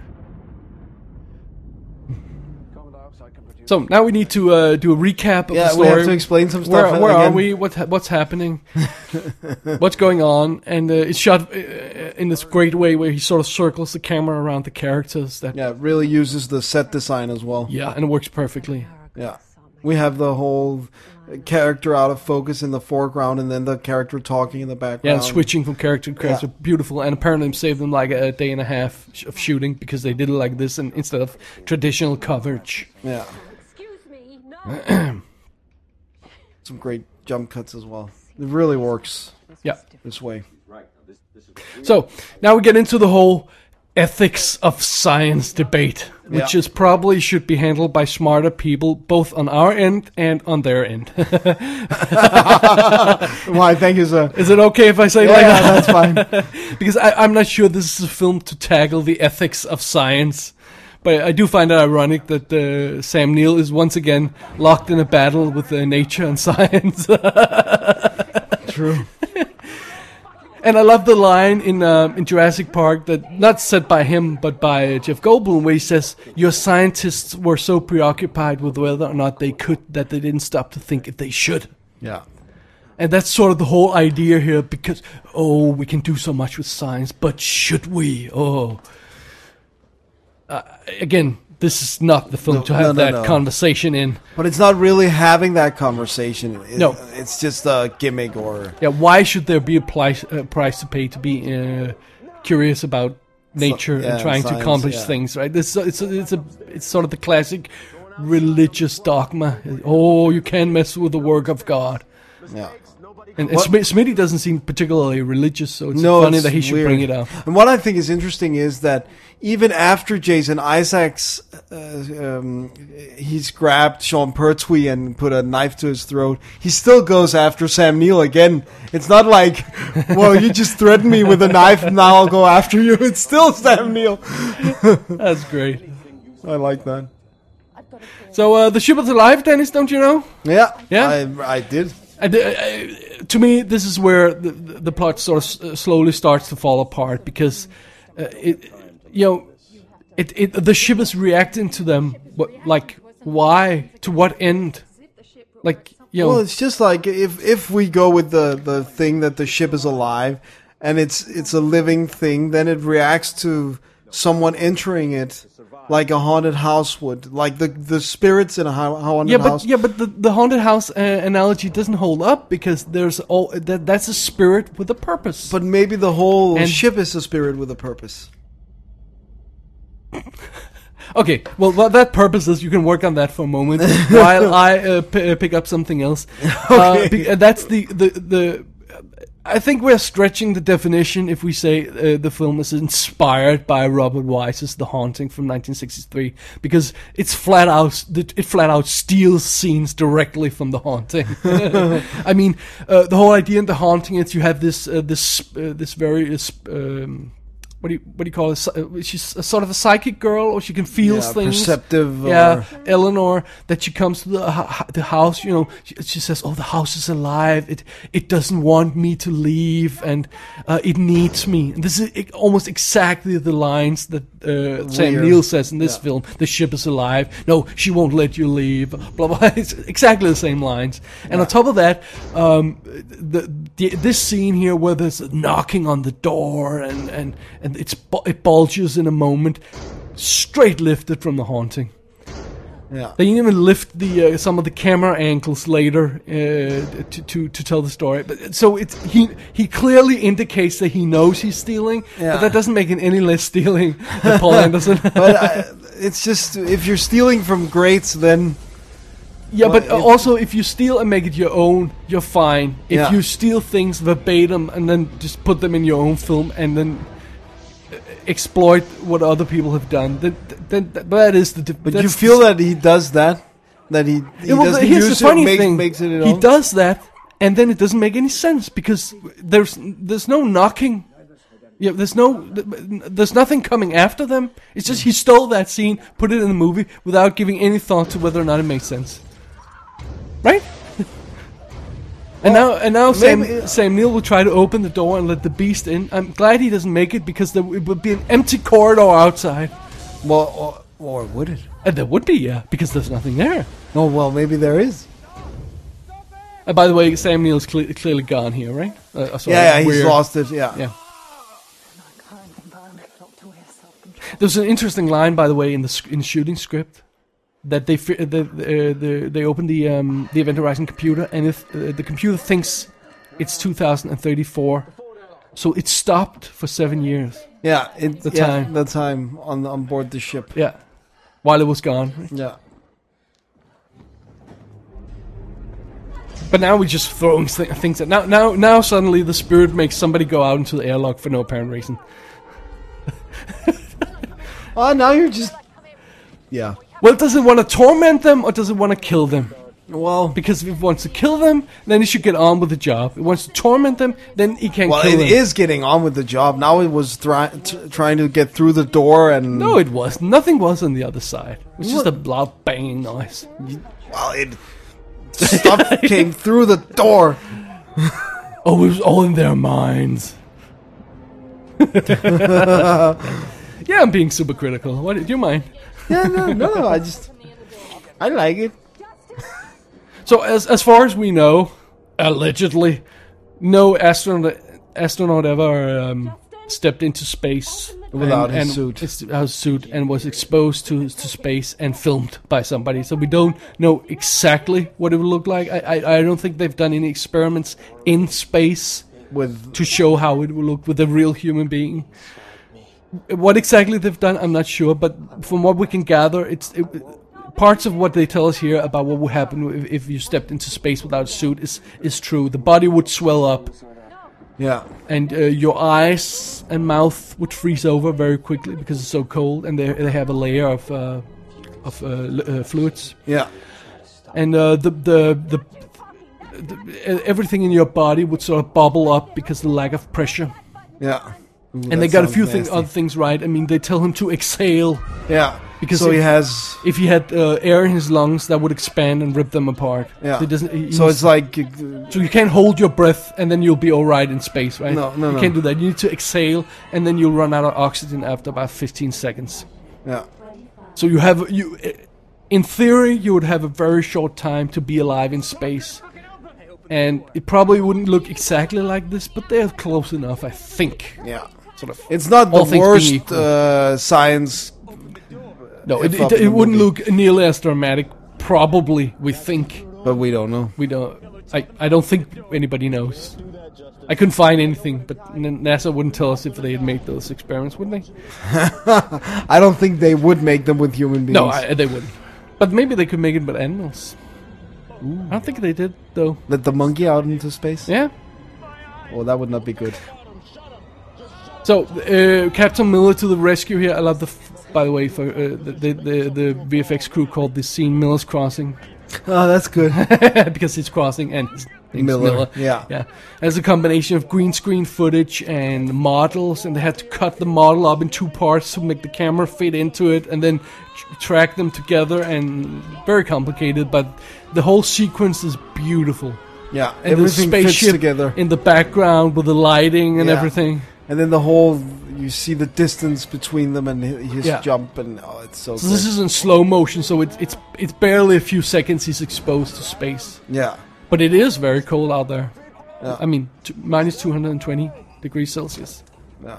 So now we need to uh, do a recap of Yeah, the we story. have to explain some Where, stuff where are again. we? What ha- what's happening? What's going on? And uh, it's shot uh, in this great way where he sort of circles the camera around the characters. That Yeah, it really uses the set design as well. yeah, and it works perfectly. Yeah. We have the whole character out of focus in the foreground and then the character talking in the Yeah, background. and switching from character to character, Yeah. beautiful. And apparently, it saved them like a day and a half sh- of shooting because they did it like this and instead of traditional coverage. Yeah. Excuse me, no. Some great jump cuts as well. It really works Yeah. this way. So now we get into the whole ethics of science debate, which Yeah. is probably should be handled by smarter people, both on our end and on their end. Why, thank you, sir. Is it okay if I say it Yeah, like yeah, that? that's fine. Because I, I'm not sure this is a film to tackle the ethics of science. But I do find it ironic that uh, Sam Neill is once again locked in a battle with uh, nature and science. True. And I love the line in uh, in Jurassic Park that not said by him but by Jeff Goldblum, where he says, "Your scientists were so preoccupied with whether or not they could that they didn't stop to think if they should." Yeah. And that's sort of the whole idea here, because oh, we can do so much with science, but should we? Oh, uh, again, this is not the film No, to have no, no, that no. conversation in. But it's not really having that conversation. It, No. It's just a gimmick or... Yeah, why should there be a price, uh, price to pay to be uh, curious about nature yeah, and trying science, to accomplish yeah. things, right? This it's a, it's a it's sort of the classic religious dogma. Oh, you can't mess with the work of God. Yeah. And, and What- Smi- Smitty doesn't seem particularly religious, so it's No, funny it's that he should weird. bring it up. And what I think is interesting is that even after Jason Isaacs, uh, um, he's grabbed Sean Pertwee and put a knife to his throat, he still goes after Sam Neill again. It's not like, well, you just threatened me with a knife, and now I'll go after you. It's still Sam Neill. That's great. I like that. So uh, the ship is alive, Dennis, don't you know? Yeah, Yeah? I, I did. And, uh, uh, to me, this is where the, the, the plot sort of s- uh, slowly starts to fall apart because uh, it, you know, it, it the ship is reacting to them. But like, why? To what end? Like, you know, Well, it's just like if if we go with the, the thing that the ship is alive and it's it's a living thing, then it reacts to someone entering it like a haunted house would, like the the spirits in a ha- haunted yeah, but house. yeah, but the, the haunted house uh, analogy doesn't hold up because there's all that that's a spirit with a purpose. But maybe the whole And- ship is a spirit with a purpose. Okay, well, well, that purpose is you can work on that for a moment while I uh, p- uh, pick up something else. Uh, be- uh, that's the the the. I think we're stretching the definition if we say uh, the film is inspired by Robert Wise's The Haunting from nineteen sixty-three, because it's flat out it flat out steals scenes directly from The Haunting. I mean, uh, the whole idea in The Haunting is you have this uh, this uh, this very uh, sp- um, what do you what do you call it? Psy- She's a sort of a psychic girl, or she can feel Yeah, things. perceptive. Yeah, Or, Eleanor, that she comes to the hu- the house, you know, she, she says, "Oh, the house is alive. It it doesn't want me to leave, and uh, it needs me." And this is e- almost exactly the lines that uh, Sam Weird. Neill says in this Yeah. film. The ship is alive. No, she won't let you leave. Blah blah. It's exactly the same lines. And on top of that, um, the, the this scene here where there's a knocking on the door and and and it's bu- it bulges in a moment, straight lifted from The Haunting. yeah. They even lift the uh, some of the camera angles later uh, to, to to tell the story. But so it's he he clearly indicates that he knows he's stealing, Yeah. but that doesn't make it any less stealing than Paul Anderson. But I, it's just if you're stealing from greats, then yeah, well, but uh, if- also if you steal and make it your own, you're fine. If Yeah. you steal things verbatim and then just put them in your own film and then uh, exploit what other people have done, then then that, that is the. but you feel that he does that, that he he Yeah, well, doesn't here's use the funny it, makes, thing. makes it his he own. does that, and then it doesn't make any sense because there's there's no knocking. Yeah, there's no there's nothing coming after them. It's just he stole that scene, put it in the movie without giving any thought to whether or not it makes sense. Right? And now, and now Sam, maybe- Sam Neill will try to open the door and let the beast in. I'm glad he doesn't make it because there it would be an empty corridor outside. Well, or, or would it? And there would be, yeah, because there's nothing there. Oh well, maybe there is. And by the way, Sam Neill's cle- clearly gone here, right? Uh, sorry, Yeah, yeah, he's we're- lost it. Yeah. Yeah. There's an interesting line, by the way, in the sc- in the shooting script that they fi- the, uh, the they open the um, the Event Horizon computer, and if uh, the computer thinks it's two thousand thirty-four, so it stopped for seven years. Yeah, it, The yeah, time. the time on on board the ship. Yeah, while it was gone. Yeah. But now we're just throwing th- things at now. Now, now suddenly the spirit makes somebody go out into the airlock for no apparent reason. Oh, now you're just. Yeah. Well, does it want to torment them or does it want to kill them? Well, Because if it wants to kill them, then it should get on with the job. If it wants to torment them, then it can't well, kill it them. is getting on with the job. Now it was try- t- trying to get through the door and. No, it was. Nothing was on the other side. It was just a loud banging noise. Well, it. Stuff came through the door. Oh, it was all in their minds. Yeah, I'm being super critical. What do you mind? Yeah, no, no, no. I just. I like it. So, as as far as we know, allegedly, no astronaut astronaut ever um, stepped into space Without and, his and suit. his, his suit, and was exposed to to space and filmed by somebody. So we don't know exactly what it would look like. I I, I don't think they've done any experiments in space With to show how it will look with a real human being. What exactly they've done, I'm not sure, but from what we can gather, it's it, parts of what they tell us here about what would happen if, if you stepped into space without a suit is is true. The body would swell up, yeah, and uh, your eyes and mouth would freeze over very quickly because it's so cold, and they they have a layer of uh, of uh, uh, fluids, yeah, and uh, the, the the the everything in your body would sort of bubble up because of the lack of pressure. yeah. Ooh, And that they got a sounds few things, nasty. other things right. I mean, they tell him to exhale. Yeah, Because so if- he has. If he had uh, air in his lungs, that would expand and rip them apart. Yeah. So, it doesn't, he- So he's- it's like. uh, so you can't hold your breath and then you'll be all right in space, right? No, no, You no. can't do that. You need to exhale and then you'll run out of oxygen after about fifteen seconds. Yeah, So you have you, in theory, you would have a very short time to be alive in space, and it probably wouldn't look exactly like this, but they're close enough, I think. yeah. Sort of. It's not All the things being worst equal. uh, science. No, it, F it, up in it the wouldn't movie. look nearly as dramatic. Probably, we think. But we don't know. We don't. I, I don't think anybody knows. I couldn't find anything, but N- NASA wouldn't tell us if they had made those experiments, would they? I don't think they would make them with human beings. No, I, they wouldn't. But maybe they could make it with animals. I don't think they did, though. Let the monkey out into space? Yeah. Oh, that would not be good. So, uh, Captain Miller to the rescue here. I love the, f- by the way, for uh, the, the the the V F X crew called this scene Miller's Crossing Oh, that's good. because it's crossing and his name's Miller, Miller. yeah. yeah. There's a combination of green screen footage and models, and they had to cut the model up in two parts to make the camera fit into it, and then tr- track them together. And very complicated, but the whole sequence is beautiful. Yeah, And everything the fits spaceship together. in the background with the lighting and Yeah. everything. And then the whole, you see the distance between them and hi- his Yeah. jump, and oh, it's so So good. this is in slow motion, so it's it's it's barely a few seconds he's exposed to space. Yeah, But it is very cold out there. Yeah. I mean, t- minus two hundred twenty degrees Celsius. yeah.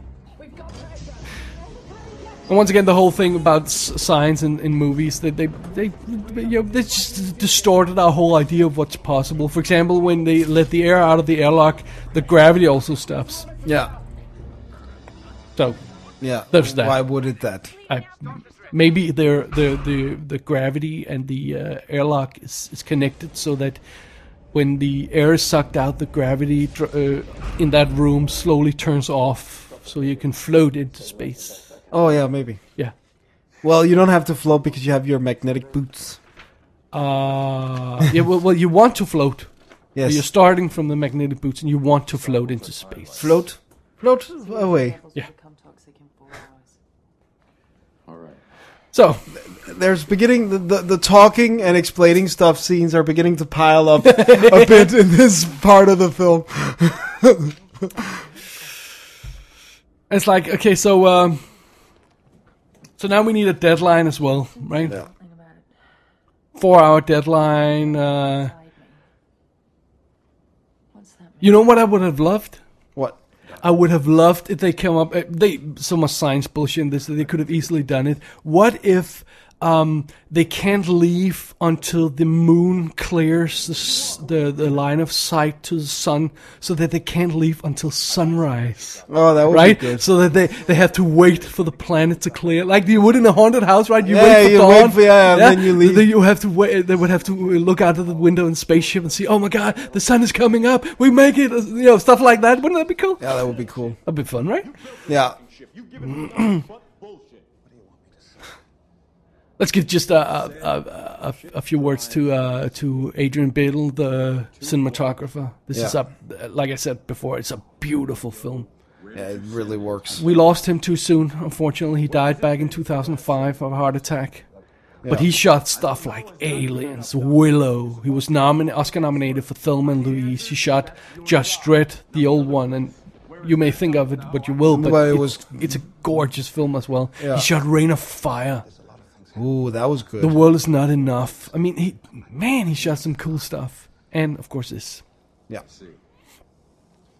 And once again, the whole thing about s- science in, in movies, they they they you know, they just distorted our whole idea of what's possible. For example, when they let the air out of the airlock, the gravity also stops. Yeah, So yeah. There's that. Why would it that? I, maybe the the the the gravity and the uh, airlock is, is connected so that when the air is sucked out, the gravity dr- uh, in that room slowly turns off, so you can float into space. Oh, yeah, maybe. Yeah. Well, you don't have to float because you have your magnetic boots. Uh, yeah. Well, well, you want to float. Yes. You're starting from the magnetic boots, and you want to float into space. Float? Float away. Yeah. Become toxic in four hours. All right. So There's beginning, the, the, the talking and explaining stuff scenes are beginning to pile up a bit in this part of the film. it's like okay, so um, so now we need a deadline as well, right? Yeah. Think about it. Four hour deadline. Uh, Guide me. What's that mean? you know what I would have loved? What? I would have loved if they came up. Uh, they so much science bullshit in this that they could have easily done it. What if um, they can't leave until the moon clears the, s- the the line of sight to the sun, so that they can't leave until sunrise, Oh, that would right? be good. So that they they have to wait for the planet to clear, like you would in a haunted house, right? You Yeah, wait for you dawn, wait for- yeah, and then you leave. Then you have to wait. They would have to look out of the window in the spaceship and see, oh my god, the sun is coming up. We make it, you know, stuff like that. Wouldn't that be cool? Yeah, that would be cool. That'd be fun, right? Yeah. Let's give just a a, a, a, a few words to uh, to Adrian Biddle, the cinematographer. This is Yeah. a, like I said before, it's a beautiful film. Yeah, it really works. We lost him too soon, unfortunately. He died back in two thousand five of a heart attack. But he shot stuff like Aliens, Willow. He was nomin- Oscar nominated for Thelma and Louise. He shot Judge Dredd, the old one, and you may think of it what you will, but Well, it it- was- it's a gorgeous film as well. Yeah. He shot Rain of Fire. Ooh, that was good. The World Is Not Enough. I mean, he man, he shot some cool stuff. And, of course, this. Yeah.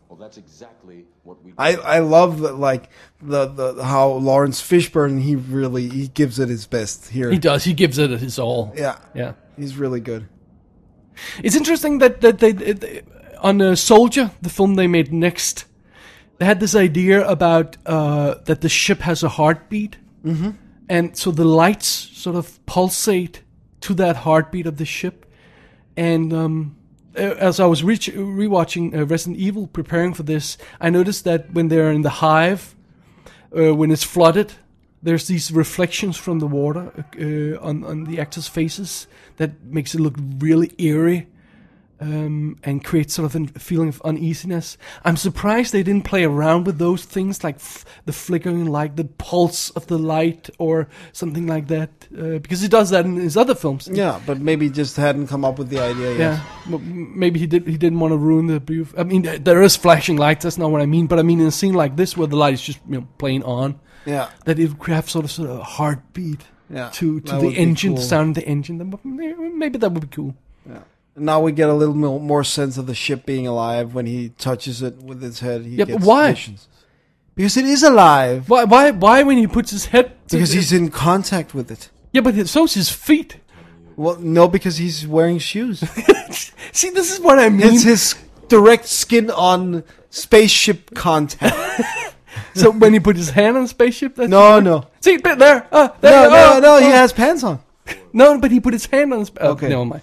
Well, that's exactly what we. I, I love the, like the, the how Lawrence Fishburne he really he gives it his best here. He does. He gives it his all. Yeah, Yeah. he's really good. It's interesting that that they, they on uh, Soldier, the film they made next, they had this idea about uh, that the ship has a heartbeat, mm-hmm. and so the lights sort of pulsate to that heartbeat of the ship. And um, as I was re- rewatching uh, Resident Evil, preparing for this, I noticed that when they're in the hive, uh, when it's flooded, there's these reflections from the water uh, on on the actors' faces that makes it look really eerie. Um, and create sort of a feeling of uneasiness. I'm surprised they didn't play around with those things like f- the flickering light, the pulse of the light, or something like that. Uh, because he does that in his other films. Yeah, but maybe just hadn't come up with the idea yet. Yeah, m- maybe he did. He didn't want to ruin the beauty. I mean, th- there is flashing lights. That's not what I mean. But I mean, in a scene like this where the light is just you know playing on, Yeah, that it could have sort of sort of a heartbeat yeah. to to That the would be engine, cool. the sound of the engine. Then maybe, maybe that would be cool. Yeah. Now we get a little mo- more sense of the ship being alive when he touches it with his head. He Yeah, but gets why? visions. Because it is alive. Why? Why? Why when he puts his head? To Because he's in contact with it. yeah, but so's his feet. Well, no, because he's wearing shoes. See, this is what I mean. It's his direct skin on spaceship contact. So when he put his hand on the spaceship, that's No, no. See, bit there. Uh, there No, oh, no, no, he oh. has pants on. No, but he put his hand on the. Sp- oh, Okay. never mind.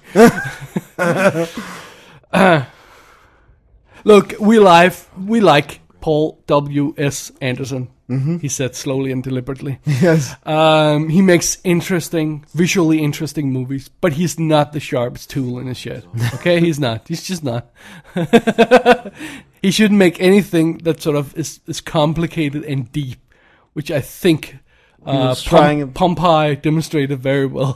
Uh, look, we live. We like Paul W. S. Anderson. Mm-hmm. He said slowly and deliberately. Yes. Um, he makes interesting, visually interesting movies, but he's not the sharpest tool in his shed. Okay, he's not. He's just not. He shouldn't make anything that sort of is, is complicated and deep, which I think uh, was trying- Pom- Pompeii demonstrated very well.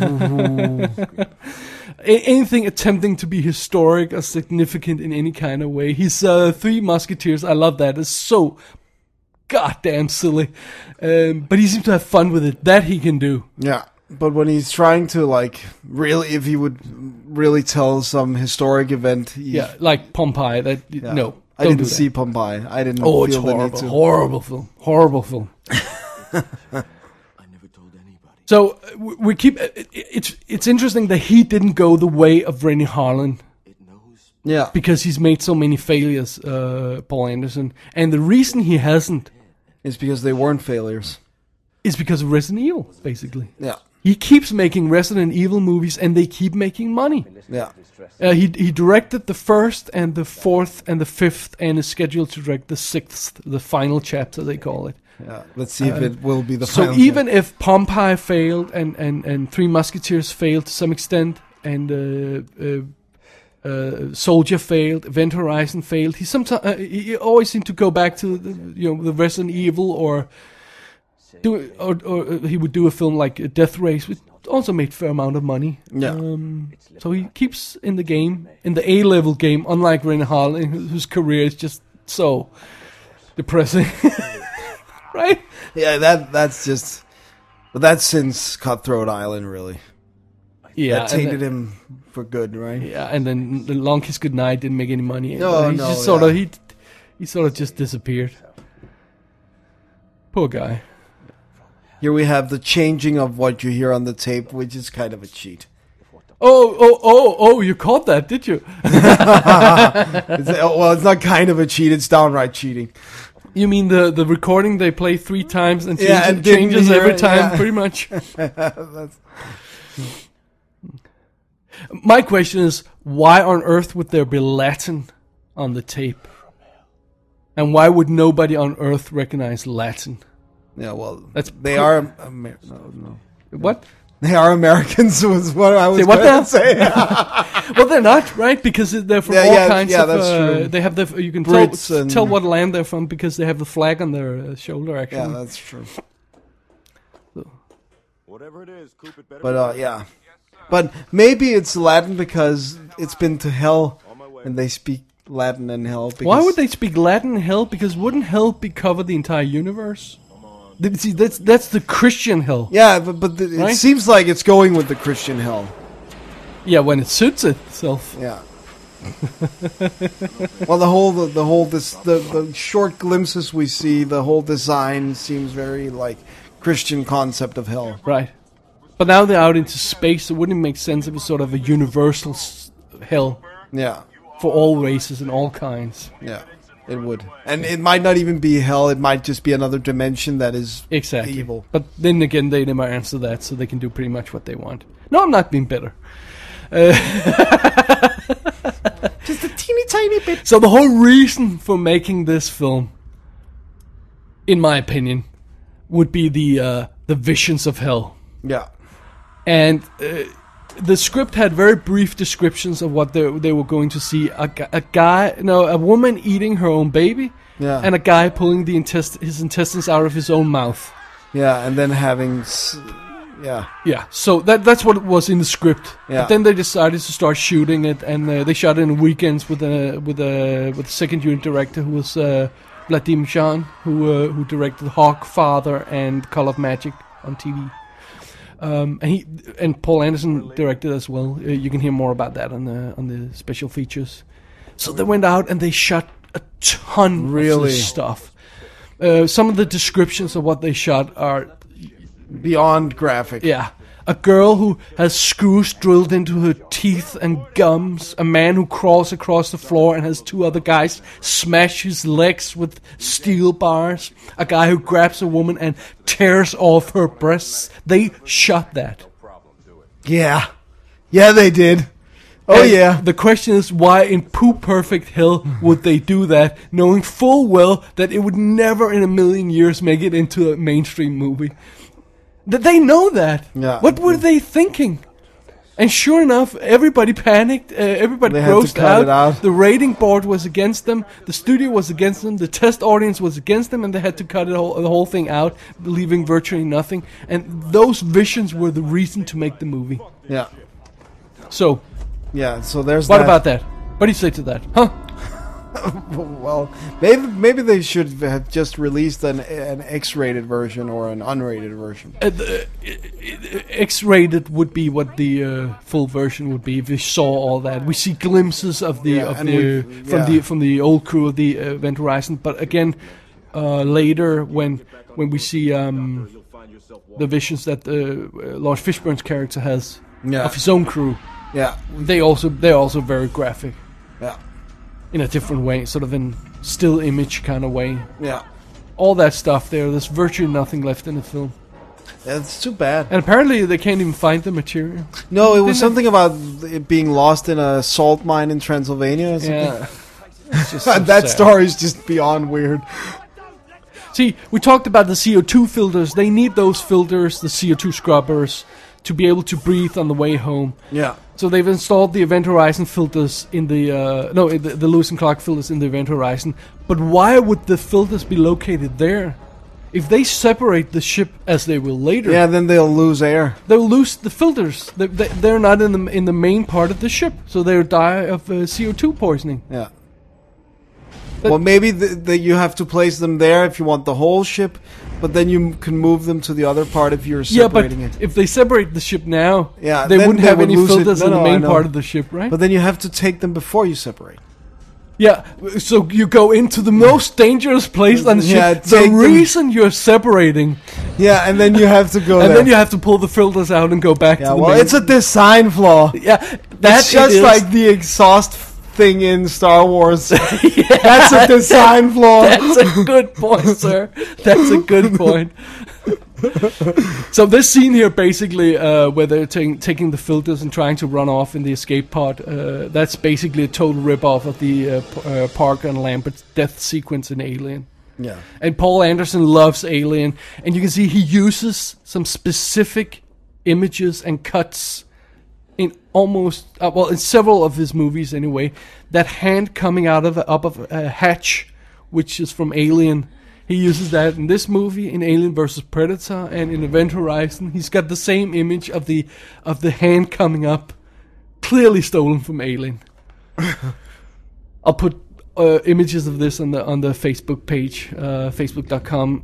A- anything attempting to be historic or significant in any kind of way. His uh, Three Musketeers, I love that. It's so goddamn silly. Um, but he seems to have fun with it. That he can do. Yeah. But when he's trying to, like, really, if he would really tell some historic event. He, Yeah, like Pompeii. That yeah. No, I don't didn't do that. see Pompeii. I didn't Oh, it's feel the need horrible. to. Horrible film. Horrible film. I never told anybody. So uh, we, we keep. It, it's it's interesting that he didn't go the way of Rennie Harlan It knows. Yeah. because he's made so many failures, uh, Paul Anderson, and the reason he hasn't It's because they weren't failures. is because of Resident Evil, basically. Yeah. He keeps making Resident Evil movies, and they keep making money. Yeah. Uh, he he directed the first and the fourth and the fifth, and is scheduled to direct the sixth, the final chapter they call it. Yeah. Let's see if it will be the So final. even if Pompeii failed and, and, and Three Musketeers failed to some extent, and uh, uh, uh, Soldier failed, Event Horizon failed, he sometimes uh, he always seemed to go back to the, you know the Resident Evil or do or, or uh, he would do a film like Death Race, which also made fair amount of money. Yeah. Um, so he keeps in the game, in the A level game, unlike Rennie Harlan, whose whose career is just so depressing. Right? Yeah, that that's just. But that's since Cutthroat Island, really. Yeah, That and tainted then- him for good, right? Yeah, and then the Long Kiss Goodnight didn't make any money. No, he no, just sort yeah. of he he sort of just disappeared. Poor guy. Here we have the changing of what you hear on the tape, which is kind of a cheat. Oh, oh, oh, oh! You caught that, did you? It's, well, it's not kind of a cheat; it's downright cheating. You mean the the recording they play three times and changes, Yeah, and didn't changes hear every it, time, yeah. pretty much. My question is, why on earth would there be Latin on the tape? And why would nobody on earth recognize Latin? Yeah, well, That's they pr- are. Amer- no, no. What? They are Americans. Was what I was Say what going now? to say. Well, they're not, right? Because they're from Yeah, all yeah, kinds yeah, of. that's uh, true. They have the. You can Brits tell and- tell what land they're from because they have the flag on their uh, shoulder. Yeah, Actually, that's true. Whatever it is, Coop, it better But uh, yeah, but maybe it's Latin because it's been to hell, and they speak Latin in hell. Because why would they speak Latin in hell? Because wouldn't hell be cover the entire universe? Th- See, that's that's the Christian hell. Yeah, but but the, it Right? seems like it's going with the Christian hell. Yeah, when it suits itself. Yeah, Well, the whole the, the whole this the, the short glimpses we see, the whole design seems very like Christian concept of hell. Right. But now they're out into space, so wouldn't it make sense if it's sort of a universal s- hell Yeah, for all races and all kinds? yeah, it would. And it might not even be hell. It might just be another dimension that is Exactly. evil. But then again, they never answer that, so they can do pretty much what they want. No, I'm not being bitter. Uh, Just a teeny tiny bit. so the whole reason for making this film, in my opinion, would be the uh, the visions of hell. Yeah, And uh, the script had very brief descriptions of what they, they were going to see. A, gu- a guy, no, a woman eating her own baby, yeah, and a guy pulling the intest- his intestines out of his own mouth. yeah, and then having, s- yeah, Yeah, so that that's what it was in the script. Yeah. But then they decided to start shooting it, and uh, they shot it in weekends with a with a with a second unit director who was uh, Vladimir Shan, who uh, who directed Hawk, Father, and Call of Magic on T V. Um, and he and Paul Anderson directed as well. Uh, you can hear more about that on the on the special features. So they went out and they shot a ton of Really? this stuff. Uh, some of the descriptions of what they shot are, beyond graphic. yeah, a girl who has screws drilled into her teeth and gums, a man who crawls across the floor and has two other guys smash his legs with steel bars, a guy who grabs a woman and tears off her breasts. They shot that. yeah, yeah, they did. Oh And yeah, the question is, why in poo perfect hell would they do that, knowing full well that it would never in a million years make it into a mainstream movie? That they know that. Yeah. What were they thinking? And sure enough, everybody panicked. Uh, everybody They had to grossed cut out. it out. The rating board was against them. The studio was against them. The test audience was against them, and they had to cut it all, the whole thing out, leaving virtually nothing. And those visions were the reason to make the movie. yeah, So, yeah. So there's what that. about that? What do you say to that? Huh? Well, maybe maybe they should have just released an an X-rated version or an unrated version. Uh, the, uh, X-rated would be what the uh, full version would be if we saw all that. We see glimpses of the Yeah, of and the we- from yeah. the from the old crew of the uh, Event Horizon. But again, uh, later when when we see um, the visions that uh, uh, Lawrence Fishburne's character has Yeah. of his own crew, Yeah, they also they're also very graphic yeah, in a different way, sort of in still image kind of way. yeah. All that stuff there. There's virtually nothing left in the film, Yeah, it's too bad. and apparently they can't even find the material. No, it was Didn't something about it being lost in a salt mine in Transylvania or something. Yeah. It's just so that sad. story is just beyond weird. See, we talked about the C O two filters. They need those filters, the C O two scrubbers, to be able to breathe on the way home. Yeah. So they've installed the Event Horizon filters in the uh, no, the, the Lewis and Clark filters in the Event Horizon. But why would the filters be located there? If they separate the ship, as they will later, Yeah, then they'll lose air. they'll lose the filters. They, they, they're not in the in the main part of the ship, so they'll die of uh, C O two poisoning. Yeah. But- well, maybe th th you have to place them there if you want the whole ship, but then you can move them to the other part if you're Yeah, but separating it. if they separate the ship now, Yeah, they then wouldn't they have would any lose it. filters No, in the no, I main know. part of the ship, right? But then you have to take them before you separate. Yeah, so you go into the most dangerous place on the ship. Yeah, the take them- reason you're separating, Yeah, and then you have to go and there. then you have to pull the filters out and go back yeah, to the well, main. it's a design flaw. yeah, that That's just it is. like the exhaust thing in Star Wars. That's a design flaw. That's a good point, sir. That's a good point. So this scene here, basically, uh, where they're ta- taking the filters and trying to run off in the escape pod, uh, that's basically a total rip-off of the uh, P- uh, Parker and Lambert death sequence in Alien. Yeah. And Paul Anderson loves Alien, and you can see he uses some specific images and cuts in almost, uh, well, in several of his movies anyway. That hand coming out of up of a hatch, which is from Alien. He uses that in this movie, in Alien versus Predator, and in Event Horizon. He's got the same image of the of the hand coming up, clearly stolen from Alien. I'll put uh, images of this on the on the Facebook page, uh, facebook dot com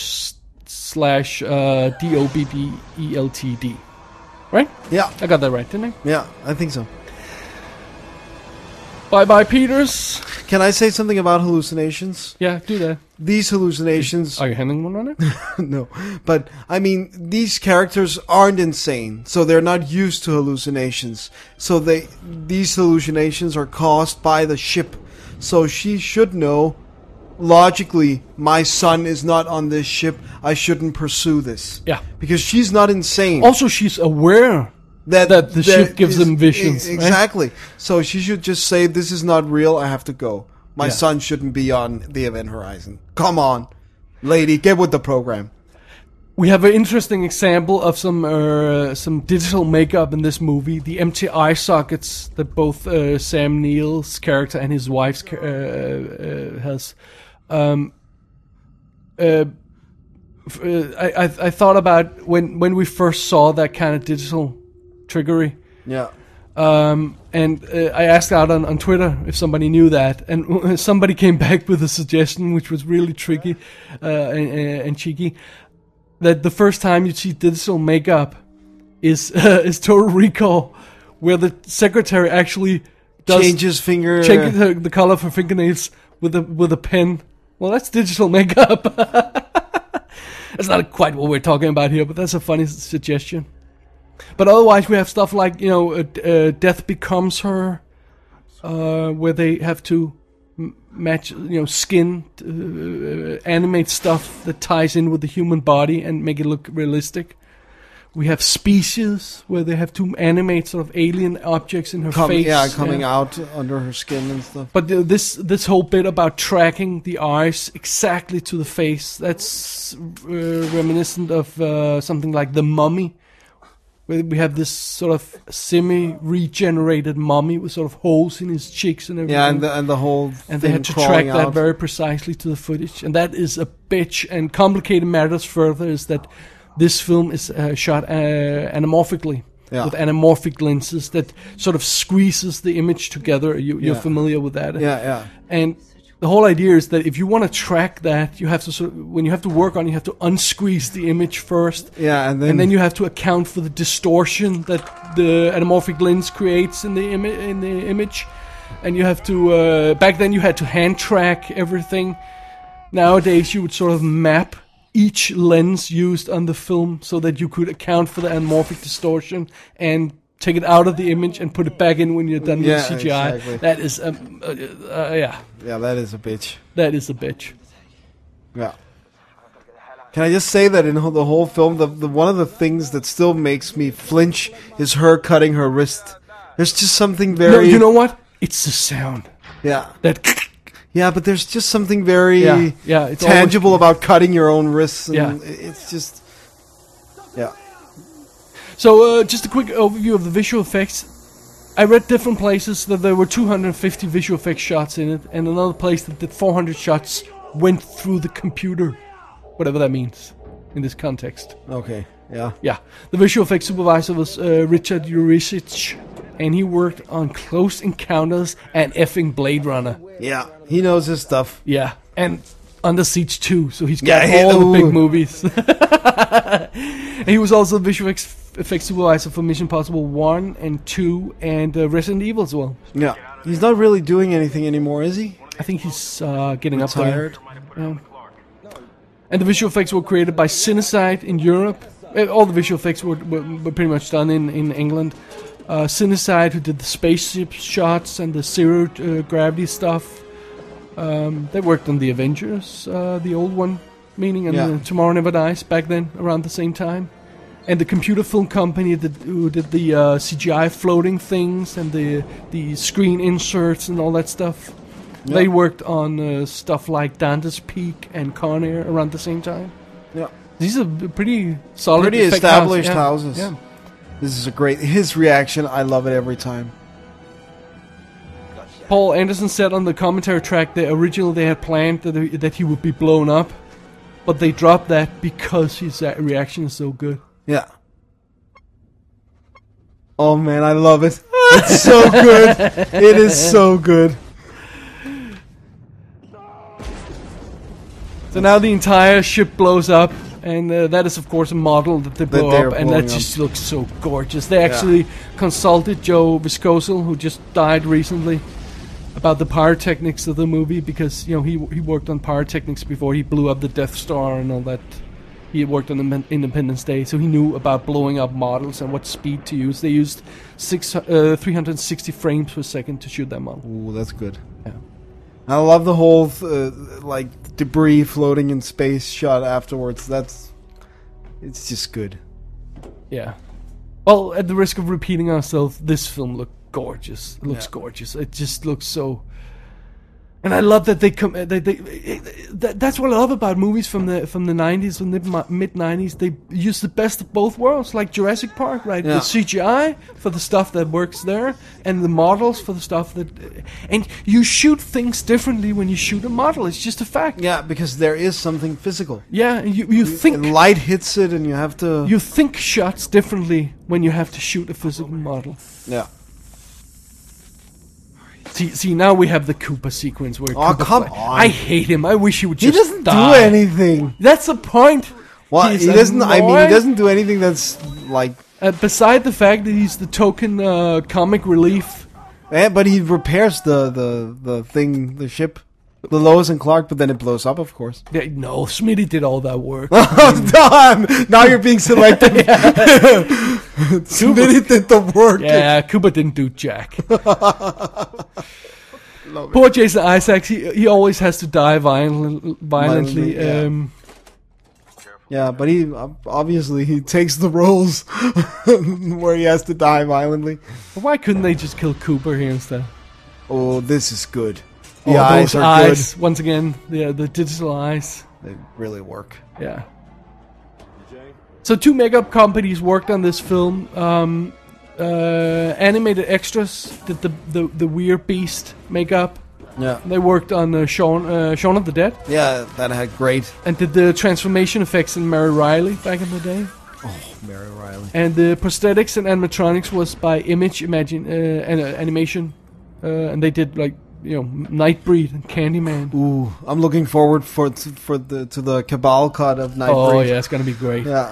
slash uh, D O B B E L T D. Right? Yeah. I got that right, didn't I? Yeah, I think so. Bye bye, Peters. Can I say something about hallucinations? Yeah, do that. These hallucinations... Are you handing one on it? No, but I mean, these characters aren't insane, so they're not used to hallucinations. So they, these hallucinations are caused by the ship. So she should know, logically, my son is not on this ship. I shouldn't pursue this. Yeah. Because she's not insane. Also, she's aware that, that the ship gives is- them visions. e- right? Exactly. So she should just say, "This is not real. I have to go. My Yeah. son shouldn't be on the Event Horizon. Come on, lady, get with the program." We have an interesting example of some uh, some digital makeup in this movie. The empty eye sockets that both uh, Sam Neill's character and his wife's ca- uh, uh, has. Um, uh, f- uh, I, I I thought about when when we first saw that kind of digital trickery. Yeah. Um, and uh, I asked out on, on Twitter if somebody knew that, and somebody came back with a suggestion which was really tricky uh, and, and cheeky. That the first time you see digital makeup is uh, is Total Recall, where the secretary actually does Changes finger. change the, the color of her fingernails with a with a pen. Well, that's digital makeup. That's not quite what we're talking about here, but that's a funny suggestion. But otherwise, we have stuff like, you know, uh, uh, Death Becomes Her, uh, where they have to m- match, you know, skin, uh, animate stuff that ties in with the human body and make it look realistic. We have Species, where they have to animate sort of alien objects in her Com- face. yeah, coming out under her skin and stuff. But the, this this whole bit about tracking the eyes exactly to the face, that's uh, reminiscent of uh, something like The Mummy, where we have this sort of semi-regenerated mummy with sort of holes in his cheeks and everything. Yeah, and the, and the whole and they thing had to crawling track that out. very precisely to the footage, and that is a bitch. And complicated matters further is that this film is uh, shot uh, anamorphically. Yeah. With anamorphic lenses that sort of squeezes the image together. You, you're Yeah. familiar with that. Yeah, yeah. And the whole idea is that if you want to track that, you have to sort of, when you have to work on it, you have to unsqueeze the image first. Yeah, and then, And then you have to account for the distortion that the anamorphic lens creates in the imi- in the image, and you have to. Uh, back then, you had to hand track everything. Nowadays, you would sort of map each lens used on the film so that you could account for the anamorphic distortion and take it out of the image and put it back in when you're done Yeah, with C G I. exactly. That is, um, uh, uh, yeah, yeah, that is a bitch. that is a bitch. Yeah. Can I just say that in the whole film, the, the one of the things that still makes me flinch is her cutting her wrist. There's just something very... No, you know what? It's the sound. Yeah. That Yeah, but there's just something very Yeah, yeah, it's tangible always- about cutting your own wrists. And Yeah. It's just... Yeah. So, uh, just a quick overview of the visual effects. I read different places that there were two hundred fifty visual effects shots in it, and another place that did four hundred shots went through the computer. Whatever that means in this context. Okay. Yeah. Yeah. The visual effects supervisor was uh, Richard Uricic, and he worked on Close Encounters and effing Blade Runner. Yeah. He knows his stuff. Yeah. And Under Siege two, so he's got Yeah, he- all the big ooh. movies. And he was also the visual ex- effects supervisor for Mission Impossible one and two and uh, Resident Evil as well. Yeah. He's not really doing anything anymore, is he? I think he's uh, getting Retired. up there. Yeah. And the visual effects were created by Cinecide in Europe. Uh, All the visual effects were, were, were pretty much done in, in England. Uh, Cinecide, who did the spaceship shots and the zero uh, gravity stuff. Um, they worked on the Avengers, uh, the old one, meaning, and Yeah. uh, Tomorrow Never Dies back then, around the same time. And the computer film company that, who did the uh, C G I floating things and the the screen inserts and all that stuff. Yeah. They worked on uh, stuff like Dante's Peak and Con Air around the same time. Yeah. These are b- pretty solid, Pretty effect established house- houses. Yeah. This is a great... His reaction, I love it every time. Paul Anderson said on the commentary track that originally they had planned that he, that he would be blown up, but they dropped that because his uh, reaction is so good. Yeah. Oh man, I love it. It's so good. It is so good. So now the entire ship blows up, and uh, that is of course a model that they That blow they're up, and blowing that up. just looks so gorgeous. They actually consulted Joe Viscoso, who just died recently, about the pyrotechnics of the movie, because you know he he worked on pyrotechnics before he blew up the Death Star and all that. He had worked on the Independence Day, so he knew about blowing up models and what speed to use. They used six, uh, three hundred sixty frames per second to shoot that model. Ooh, that's good. Yeah. I love the whole uh, like debris floating in space shot afterwards. That's it's just good. Yeah. Well, at the risk of repeating ourselves, this film looked gorgeous. It looks Yeah. gorgeous. It just looks so. And I love that they come. They, they, that, that's what I love about movies from the from the nineties and the mid nineties. They use the best of both worlds, like Jurassic Park, right? Yeah. The C G I for the stuff that works there, and the models for the stuff that. And you shoot things differently when you shoot a model. It's just a fact. Yeah, because there is something physical. Yeah, and you you think And light hits it, and you have to. you think shots differently when you have to shoot a physical model. yeah. See, see, now we have the Koopa sequence where. Oh, Koopa come fly- on. I hate him. I wish he would He just. doesn't die. do anything. That's the point. Well, He's he doesn't. I mean, he annoying. doesn't do anything that's like. Uh, beside the fact that he's the token uh, comic relief. Eh, but he repairs the the the thing, the ship, the Lois and Clark. But then it blows up, of course. Yeah, no, Smitty did all that work. Oh, damn! Now you're being selective. Smitty did the work. Yeah, Koopa didn't do jack. Poor Jason Isaacs. He he always has to die violently. Violently. Violently, yeah. Um, Yeah, but he obviously he takes the roles where he has to die violently. why couldn't they just kill Cooper here instead? Oh, this is good. The Oh, eyes those are eyes. Once again, the the digital eyes. good. They really work. Yeah. So two makeup companies worked on this film. Um, uh, Animated Extras did the, the, the weird beast makeup. Yeah, They worked on uh, Shaun, uh, Shaun of the Dead, yeah, that had great. and did the transformation effects in Mary Riley back in the day. Mary Riley. And the prosthetics and animatronics was by Image Imagine uh, an, uh, Animation, uh, and they did like you know Nightbreed and Candyman. Ooh, I'm looking forward for to, for the to the Cabal cut of Nightbreed. Oh yeah, it's gonna be great. yeah.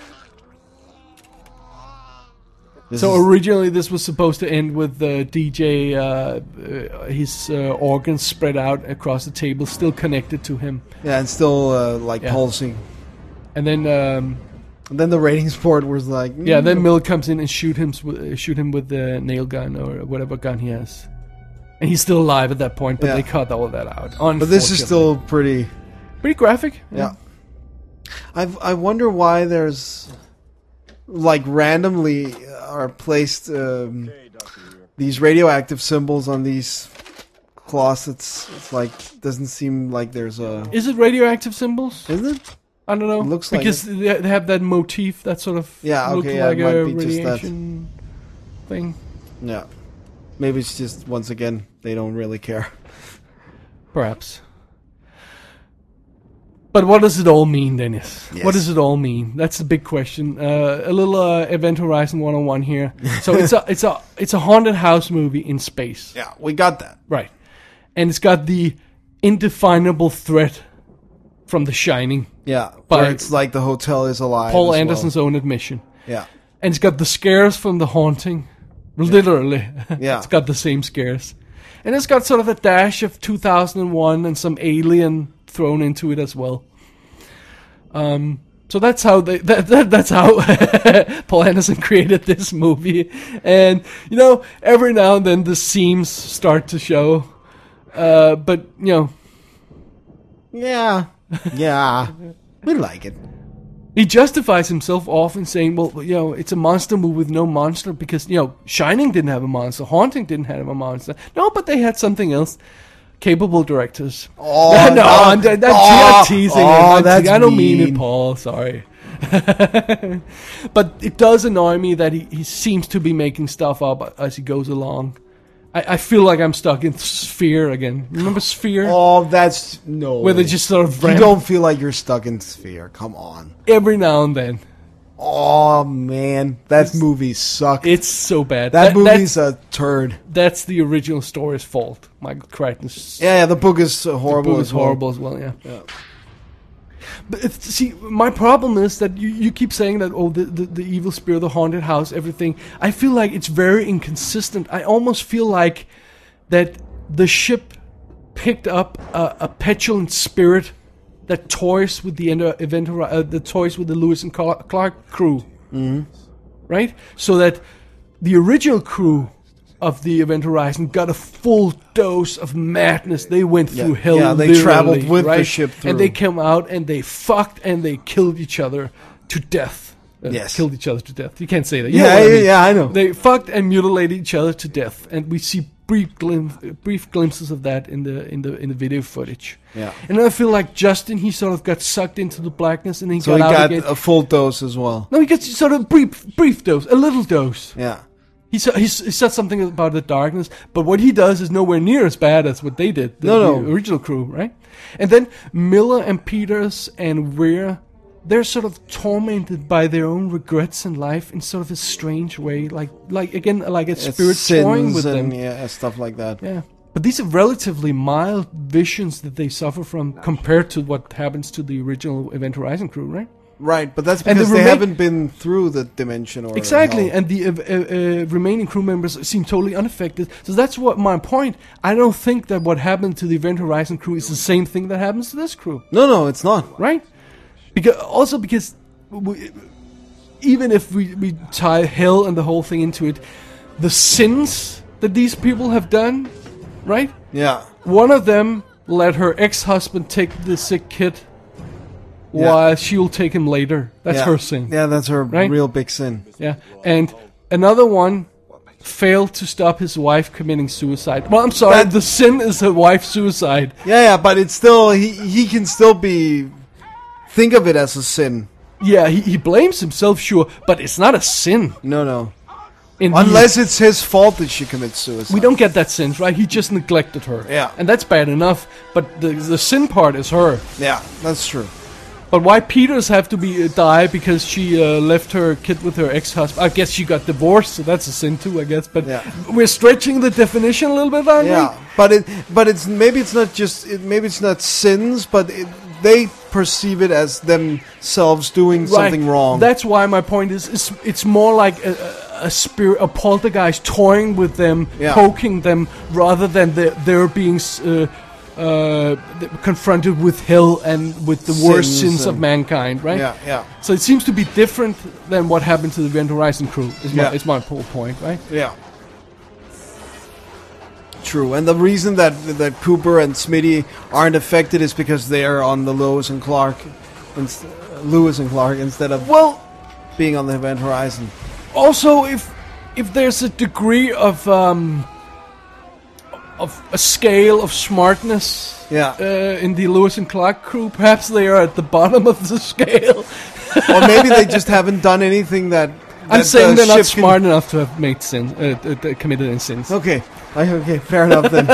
This So is- originally this was supposed to end with the D J, uh, uh, his uh, organs spread out across the table, still connected to him, yeah, and still uh, like Yeah. pulsing. and then um, And then the ratings board was like, yeah, mm, then Mill comes in and shoot him, uh, shoot him with the nail gun or whatever gun he has, and he's still alive at that point, but Yeah. they cut all of that out. But this is still pretty. pretty graphic. Yeah. I I wonder why there's like randomly are placed um, these radioactive symbols on these closets. It's like doesn't seem like there's a. Is it radioactive symbols? Is it? I don't know. It looks like because they they have that motif, that sort of Yeah, look okay, yeah, like it might a be just that. radiation thing. Yeah. Maybe it's just once again they don't really care. Perhaps. But what does it all mean, Dennis? Yes. What does it all mean? That's the big question. Uh, a little uh, Event Horizon one oh one here. So it's a it's a it's a haunted house movie in space, Yeah, we got that. right? And it's got the indefinable threat from The Shining, Yeah, But- but it's like the hotel is alive. Paul as well. Anderson's own admission, Yeah, and it's got the scares from The Haunting, literally. Yeah. It's got the same scares, and it's got sort of a dash of two thousand one and some Alien thrown into it as well. Um, so that's how they that, that that's how Paul Anderson created this movie, and you know every now and then the seams start to show, uh, but you know yeah, yeah. We like it. he justifies himself often saying, well, you know, it's a monster movie with no monster because you know Shining didn't have a monster, Haunting didn't have a monster, no, but they had something else. Capable directors. Oh, no, no. I'm, that's Oh, you're teasing. oh, I'm that's teasing. I don't mean mean. it, Paul. Sorry. But it does annoy me that he, he seems to be making stuff up as he goes along. I, I feel like I'm stuck in Sphere again. Remember Sphere? Oh, that's no. Where they just sort of You ramp don't feel like you're stuck in Sphere. Come on. every now and then. Oh man, that movie sucked. It's so bad. that That- movie's that's, a turd. that's the original story's fault. Michael Crichton's Yeah, yeah, the book is uh, horrible. book is as well. horrible as well, yeah. But it's, see, my problem is that you, you keep saying that, oh, the, the, the evil spirit, the haunted house, everything. I feel like it's very inconsistent. I almost feel like that the ship picked up a, a petulant spirit that toys with the ender- event, uh, the toys with the Lewis and Cla- Clark crew, mm-hmm. right? So that the original crew of the Event Horizon got a full dose of madness. They went through Yeah. hell. Yeah, they literally, traveled with the right? ship through. and they came out and they fucked and they killed each other to death. Uh, Yes. killed each other to death. You can't say that. You Yeah, know what I yeah, mean. yeah, I know. They fucked and mutilated each other to death, and we see brief glim- brief glimpses of that in the in the in the video footage. Yeah. And I feel like Justin, he sort of got sucked into the blackness, and he So got he out got again. a full dose as well. No, he gets sort of brief brief dose, a little dose. Yeah. He said, he said something about the darkness, but what he does is nowhere near as bad as what they did, the, No, the no. original crew, right? And then Miller and Peters and Weir, they're sort of tormented by their own regrets in life in sort of a strange way, like, like again, like a It's spirit toying sins with and them. yeah, stuff like that. Yeah. But these are relatively mild visions that they suffer from compared to what happens to the original Event Horizon crew, right? Right, but that's And the because they remain- haven't been through the dimension or Exactly, hell. and the uh, uh, uh, remaining crew members seem totally unaffected. So that's what my point. I don't think that what happened to the Event Horizon crew is the same thing that happens to this crew, No, no, it's not. right? Because also because we, even if we, we tie hell and the whole thing into it, the sins that these people have done, right? Yeah. One of them let her ex-husband take the sick kid, Yeah. while she'll take him later. That's yeah. her sin. Yeah, that's her Right? real big sin. Yeah, and another one failed to stop his wife committing suicide. Well, I'm sorry, That- the sin is a wife's suicide. Yeah, yeah, but it's still he he can still be think of it as a sin. Yeah, he, he blames himself, sure, but it's not a sin. No, no. In the- Unless it's his fault that she commits suicide. we don't get that sin, right? He just neglected her. Yeah. and that's bad enough. But the the sin part is her. Yeah, that's true. But why Peters have to be uh, die because she uh, left her kid with her ex-husband? I guess she got divorced, so that's a sin too, I guess. But Yeah. we're stretching the definition a little bit, aren't Yeah, we? but it but it's maybe it's not just it, maybe it's not sins, but it, they perceive it as themselves doing something wrong. That's why my point is, is it's more like a, a, a spirit, a poltergeist toying with them, Yeah. poking them, rather than the, they're being uh, uh, confronted with hell and with the worst Sins sins of and- mankind, right? yeah, yeah, So it seems to be different than what happened to the Event Horizon crew. Is my, Yeah. is my whole point, right? yeah. True, and the reason that that Cooper and Smitty aren't affected is because they are on the Lewis and Clark, inst- Lewis and Clark instead of Well, being on the Event Horizon. also if if there's a degree of um, of a scale of smartness. Yeah, Uh, in the Lewis and Clark crew, perhaps they are at the bottom of the scale. or maybe they just haven't done anything that. I'm that saying the they're not ship can- smart enough to have made sin, uh, uh, uh, committed any sins. Okay, I, okay, fair enough then.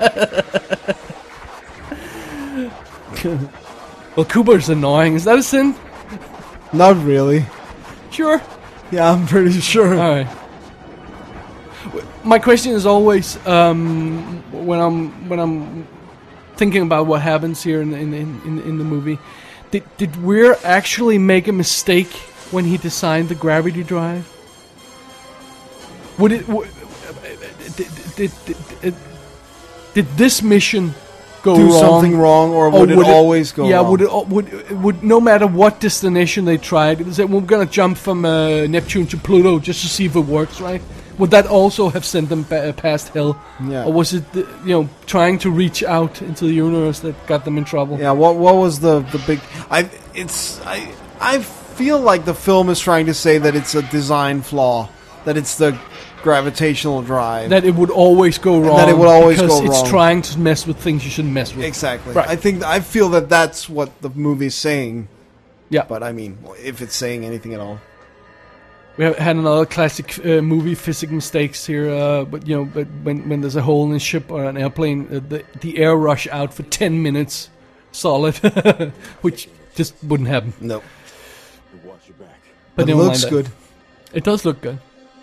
Well, Cooper's annoying. Is that a sin? Not really. Sure. Yeah, I'm pretty sure. All right. W- My question is always um, when I'm when I'm thinking about what happens here in in in, in, in the movie. Did did Weir actually make a mistake when he designed the gravity drive? Would it? W- did, did, did, did, did this mission go Do wrong? something wrong, or would, it always go yeah, wrong? would it al- would would no matter what destination they tried, it was that we're gonna jump from uh, Neptune to Pluto just to see if it works, right? Would that also have sent them ba- past hell, Yeah. or was it the, you know trying to reach out into the universe that got them in trouble? Yeah, what what was the the big? I it's I I feel like the film is trying to say that it's a design flaw, that it's the gravitational drive. That it would always go wrong. that it would always because go it's wrong. trying to mess with things you shouldn't mess with. exactly. Right. I think I feel that that's what the movie's saying. Yeah, But I mean, if it's saying anything at all. we have had another classic uh, movie physics mistakes here. Uh, but you know, but when when there's a hole in a ship or an airplane, uh, the the air rush out for ten minutes, solid, which just wouldn't happen. No, You watch your back. But it never looks mind that. good. It does look good.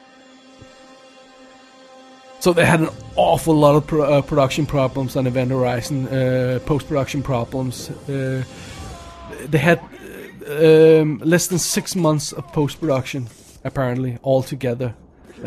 So they had an awful lot of pro- uh, production problems on Event Horizon, uh, post-production problems. Uh, they had uh, um, less than six months of post-production, apparently, altogether. Yeah.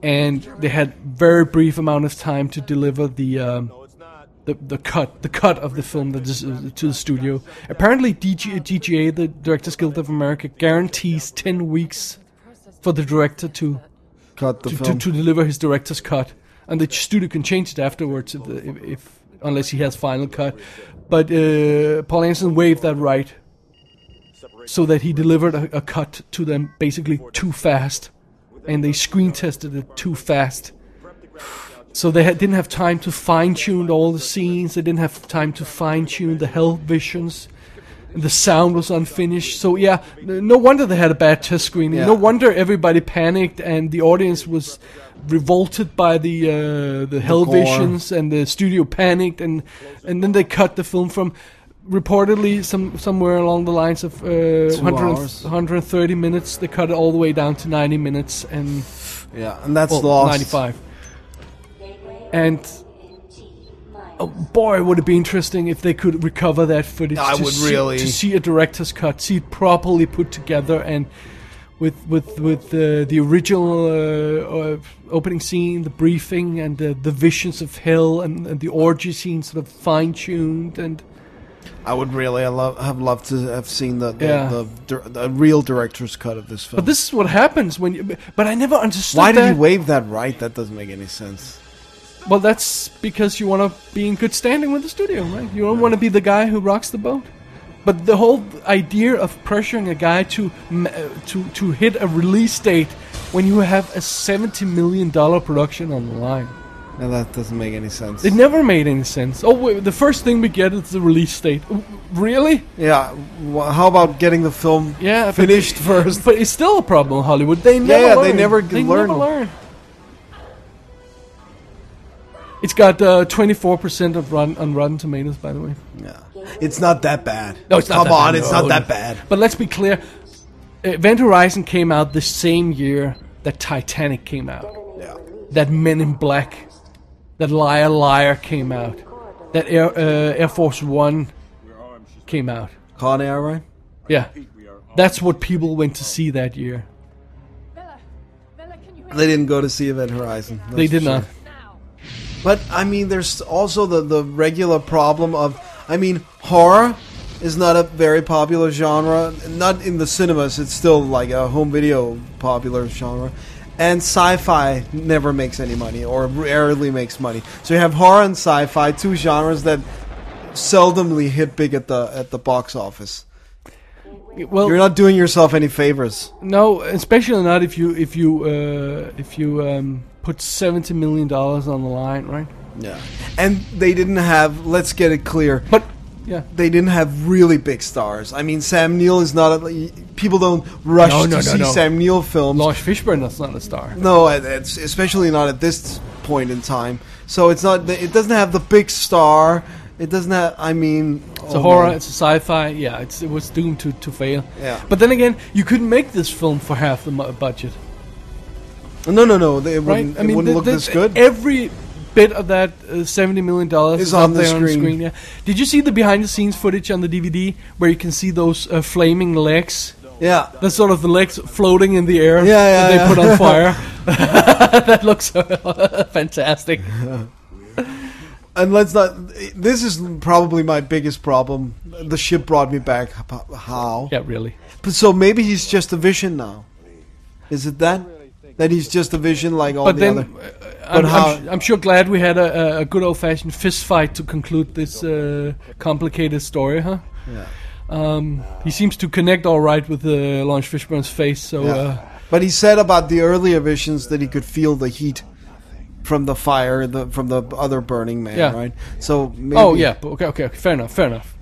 and they had very brief amount of time to deliver the um, the the cut the cut of the film that is, uh, to the studio. Apparently, D G, D G A, the Directors Guild of America, guarantees ten weeks for the director to Cut the to, to, film. to deliver his director's cut, and the studio can change it afterwards if, the, if, if unless he has final cut. But uh, Paul Anderson waived that right, so that he delivered a, a cut to them basically too fast, and they screen tested it too fast. So they had, didn't have time to fine tune all the scenes. They didn't have time to fine tune the hell visions. The sound was unfinished. So yeah, n- no wonder they had a bad test screening. Yeah. No wonder everybody panicked and the audience was revolted by the uh, the hell gore. visions, and the studio panicked, and and then they cut the film from reportedly some somewhere along the lines of uh, one hundred, hours. one hundred thirty minutes. They cut it all the way down to ninety minutes, and Yeah, and that's well, lost. ninety-five. And oh boy, would it be interesting if they could recover that footage. I to would see, really. to see a director's cut, see it properly put together, and with with with uh, the original uh, uh, opening scene, the briefing, and the, the visions of hell, and, and the orgy scene sort of fine tuned. And I would really love, have loved to have seen the the, Yeah. the, the, the real director's cut of this film. but this is what happens when you. But I never understood. Why did that. he waive that right? That doesn't make any sense. Well, that's because you want to be in good standing with the studio, right? You don't want to be the guy who rocks the boat. But the whole idea of pressuring a guy to m- uh, to to hit a release date when you have a seventy million dollar production on the line, No, that doesn't make any sense. it never made any sense. Oh, wait, the first thing we get is the release date. W- Really? Yeah. wh- How about getting the film Yeah, but- finished first? But it's still a problem in Hollywood. They never yeah, learn. they never they learn. Never learn. It's got uh, twenty-four percent of run on Rotten Tomatoes, by the way. Yeah. It's not that bad. No, it's not Come that on, bad, it's no. not that bad. But let's be clear. Event Horizon came out the same year that Titanic came out. Yeah. That Men in Black. That Liar Liar came out. That Air, uh, Air Force One came out. Con Air, right? Yeah. That's what people went to see that year. Bella, Bella, can you They didn't go to see Event Horizon. that's They did for sure. not. now? But I mean, there's also the the regular problem of, I mean, horror is not a very popular genre. Not in the cinemas. It's still like a home video popular genre. And sci-fi never makes any money, or rarely makes money. So you have horror and sci-fi, two genres that seldomly hit big at the at the box office. Well, You're not doing yourself any favors. no, especially not if you if you uh, if you um, put seventy million dollars on the line, right? Yeah. And they didn't have. Let's get it clear. But yeah. They didn't have really big stars. I mean, Sam Neill is not. A, people don't rush No, no, to no, see no. Sam Neill films. Lawrence Fishburne is not a star. No, it's especially not at this point in time. So it's not. It doesn't have the big star. It doesn't have. I mean, It's a horror, it's a sci-fi. Yeah, it's, it was doomed to, to fail. Yeah. But then again, you couldn't make this film for half the mu- budget, No, no, no. They, it right? wouldn't, it wouldn't the- look the- this good. Every bit of that uh, seventy million dollars Is is on up the there on the screen. screen. Yeah. Did you see the behind-the-scenes footage on the D V D where you can see those uh, flaming legs? Yeah. That's sort of the legs floating in the air Yeah, yeah, that they yeah. put on fire. That looks uh, fantastic. And let's not. This is probably my biggest problem. The ship brought me back. How? Yeah, really. But so maybe he's just a vision now. Is it that? That he's just a vision like all But the then, other. uh, I'm, how- I'm, I'm sure glad we had a, a good old-fashioned fist fight to conclude this uh, complicated story, huh? Yeah. Um, he seems to connect all right with uh, Lawrence Fishburne's face, so Yeah. uh, But he said about the earlier visions that he could feel the heat from the fire, the from the other burning man, Yeah. right? So maybe, oh yeah, but okay, okay, okay, fair enough, fair enough.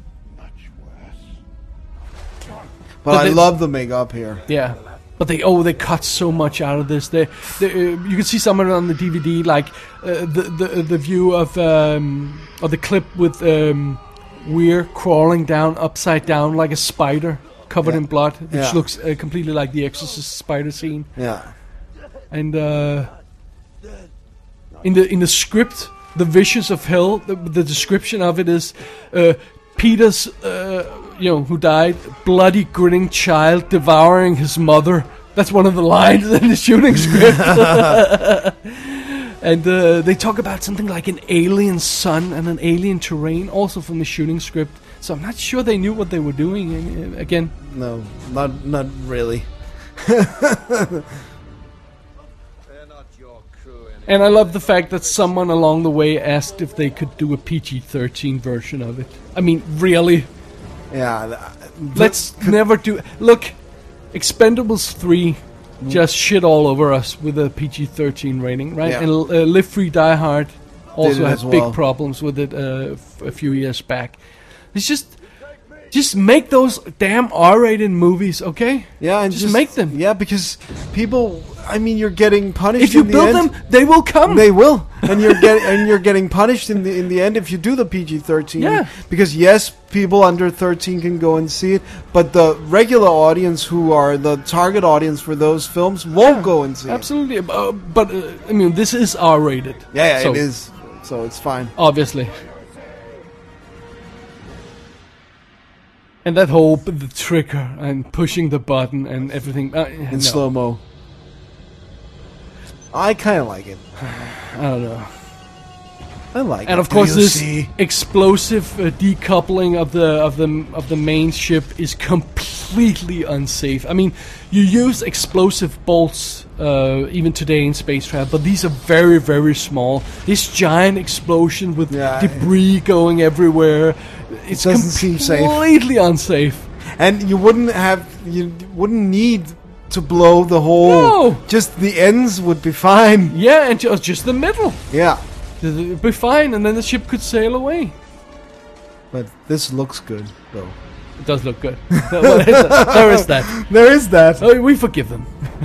But But I they- love the makeup here. Yeah, but they oh they cut so much out of this. They, they uh, you can see some of it on the D V D, like uh, the the the view of um of the clip with um Weir crawling down upside down like a spider covered Yeah. in blood, which Yeah. looks uh, completely like the Exorcist spider scene. Yeah. And uh, in the in the script, the visions of hell, the, the description of it is uh, Peter's, uh, you know, who died, bloody grinning child devouring his mother That's one of the lines in the shooting script. And uh, they talk about something like an alien sun and an alien terrain, also from the shooting script. So I'm not sure they knew what they were doing. And, uh, again, No, not not really. and I love the fact that someone along the way asked if they could do a P G thirteen version of it. I mean, really? Yeah. th- Let's never do. Look, Expendables three just shit all over us with a P G thirteen rating, right? Yeah. And uh, Live Free Die Hard also it had as big well. problems with it uh, f- a few years back. It's just, just make those damn R-rated movies, okay? Yeah, and Just just, make them. Yeah, because people. I mean, you're getting punished. If you in the build end. them, they will come. They will, and you're getting and you're getting punished in the in the end if you do the P G thirteen. Yeah. Because yes, people under thirteen can go and see it, but the regular audience, who are the target audience for those films, won't go and see Absolutely, uh, but uh, I mean, this is R-rated. it. Yeah, yeah so, it is. So it's fine. obviously. And that whole b- the trigger and pushing the button and everything uh, In no, slow mo. I kind of like it. I don't know. I like it. And of Do course, you this see? explosive uh, decoupling of the of the of the main ship is completely unsafe. I mean, you use explosive bolts uh, even today in space travel, but these are very very small. This giant explosion with Yeah. debris going everywhere, it's doesn't seem safe. completely unsafe. And you wouldn't have, you wouldn't need to blow the whole. No. Just the ends would be fine. Yeah, and just just the middle, Yeah. it'd be fine, and then the ship could sail away. But this looks good, though. It does look good. Well, there is that. There is that. Oh, we forgive them.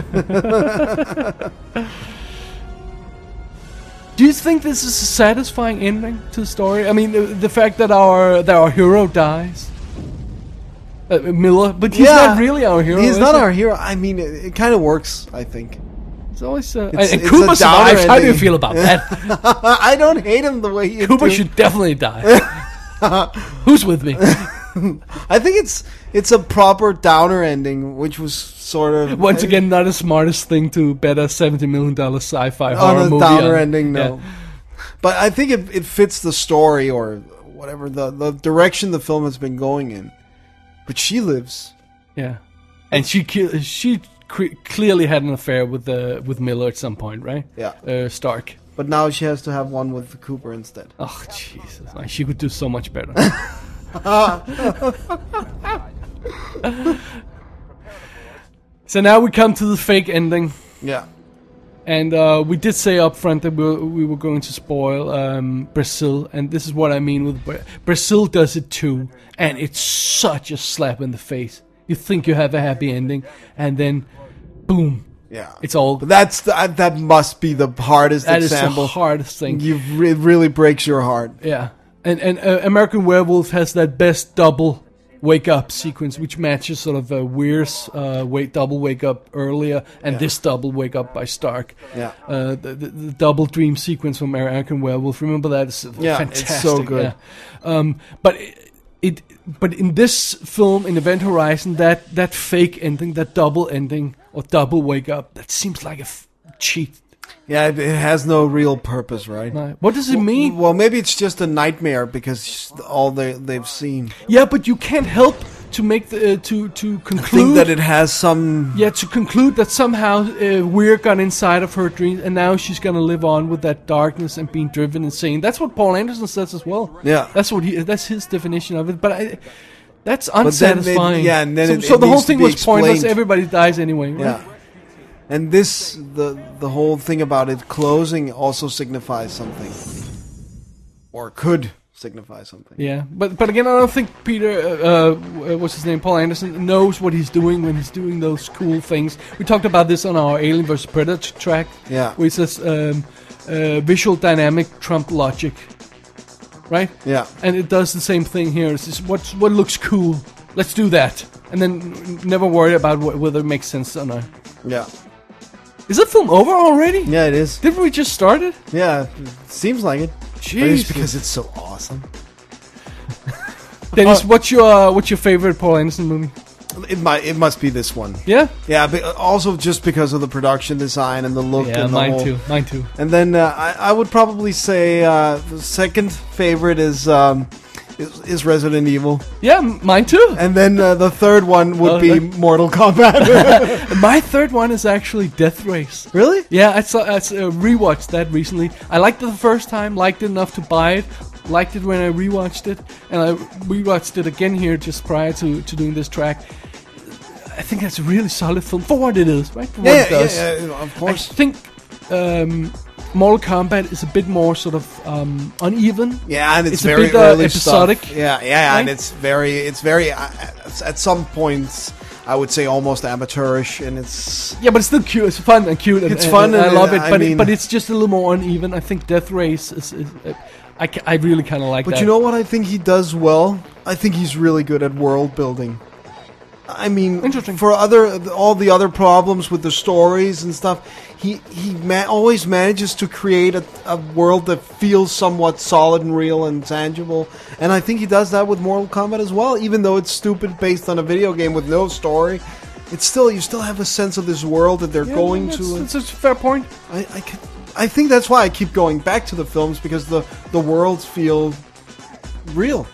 Do you think this is a satisfying ending to the story? I mean, the, the fact that our that our hero dies, uh, Miller, but he's Yeah. not really our hero. He's is not he? our hero. I mean, it, it kind of works, I think. It's always. Uh, It's- and it's Cooper a downer survives. How do you ending. feel about that? I don't hate him the way you Cooper do. should definitely die. Who's with me? I think it's it's a proper downer ending, which was sort of Once again, not the smartest thing to bet a seventy million dollar sci-fi on horror a movie. downer on. ending. No, Yeah. but I think it it fits the story or whatever the the direction the film has been going in. But she lives. Yeah, and she ki- she cre- clearly had an affair with uh, with Miller at some point, right? Yeah. Uh, Stark. But now she has to have one with the Cooper instead. Oh Jesus! Like, she could do so much better. So now we come to the fake ending, Yeah. and uh, we did say up front that we were, we were going to spoil um, Brazil, and this is what I mean with Bra- Brazil does it too, and it's such a slap in the face. You think you have a happy ending, and then, boom, Yeah. it's all. But that's the, uh, that must be the hardest That is the example. hardest thing. You re- it really breaks your heart. Yeah, and and uh, American Werewolf has that best double wake up sequence, which matches sort of uh, Weir's uh, wake double wake up earlier, and Yeah. this double wake up by Stark. Yeah. uh, the, the, the double dream sequence from American Werewolf. Remember that? It's Yeah, it's fantastic. so good. Yeah. Um, but it, it, but in this film, in Event Horizon, that that fake ending, that double ending or double wake up, that seems like a f- cheat. Yeah, it, it has no real purpose, right? Right. What does it mean? Well, maybe it's just a nightmare because all they they've seen. Yeah, but you can't help to make the uh, to to I conclude think that it has some. yeah to conclude that somehow uh, Weir got inside of her dreams, and now she's gonna live on with that darkness and being driven insane. That's what Paul Anderson says as well. Yeah. that's what he that's his definition of it. But I, that's then they- unsatisfying. yeah, and then so, it- so it the whole needs to thing be was pointless. explained. Everybody dies anyway. Right? Yeah. And this, the the whole thing about it closing also signifies something, or could signify something. Yeah, but but again, I don't think Peter, uh, uh, what's his name, Paul Anderson, knows what he's doing when he's doing those cool things. We talked about this on our Alien versus. Predator track. Yeah. where it says um, uh, visual dynamic trump logic, right? Yeah. And it does the same thing here. It's just what what looks cool. Let's do that, and then never worry about wh- whether it makes sense or not. Yeah. Is the film over already? Yeah, it is. Didn't we just start it? Yeah, it seems like it. But it's Jesus. because it's so awesome. Dennis, what's your uh, what's your favorite Paul Anderson movie? it might it must be this one. Yeah? Yeah, but also just because of the production design and the look. Yeah, and the mine whole, too. Mine too. And then uh, I, I would probably say uh, the second favorite is, um, is is Resident Evil, Yeah, m- mine too. and then uh, the third one would Oh, be that- Mortal Kombat. My third one is actually Death Race. Really? Yeah, I saw I s- uh, rewatched that recently. I liked it the first time, liked it enough to buy it, liked it when I rewatched it, and I rewatched it again here just prior to, to doing this track. I think that's a really solid film for what it is, right? For what Yeah, it yeah, does. yeah, yeah, of I course. think um, Mortal Kombat is a bit more sort of um, uneven. Yeah, and it's, It's a very bit, uh, early episodic, stuff. Yeah, yeah, and right? it's very, it's very. Uh, at some points, I would say almost amateurish, and it's. Yeah, but it's still cute. It's fun and cute. And, It's and- fun and I and, love uh, it. I But mean- it, but it's just a little more uneven. I think Death Race is. is uh, I, ca- I really kind of like But that. you know what I think he does well? I think he's really good at world building. I mean, Interesting. for other all the other problems with the stories and stuff, he he ma- always manages to create a, a world that feels somewhat solid and real and tangible. And I think he does that with Mortal Kombat as well. Even though it's stupid based on a video game with no story, it's still you still have a sense of this world that they're Yeah, going that's, to. That's a fair point. I I, could, I think that's why I keep going back to the films, because the the worlds feel real.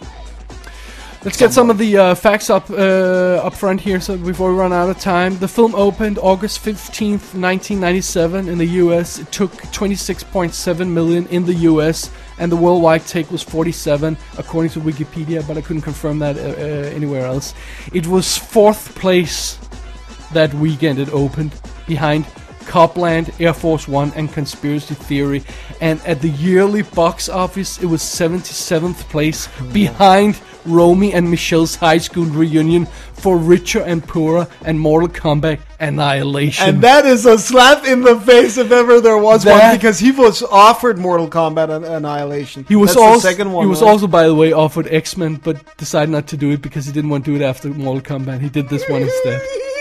Let's get some of the uh, facts up uh, up front here, so before we run out of time. The film opened August fifteenth, nineteen ninety-seven in the U S. It took twenty-six point seven million in the U S, and the worldwide take was forty-seven, according to Wikipedia, but I couldn't confirm that uh, uh, anywhere else. It was fourth place that weekend it opened, behind Copland, Air Force One, and Conspiracy Theory. And at the yearly box office, it was seventy-seventh place, behind Romy and Michelle's high school reunion, For Richer and Poorer, and Mortal Kombat Annihilation. And that is a slap in the face if ever there was That- one, because he was offered Mortal Kombat An- Annihilation. he was That's also the second one. he was right? also, by the way, offered X-Men, but decided not to do it because he didn't want to do it after Mortal Kombat. He did this one instead.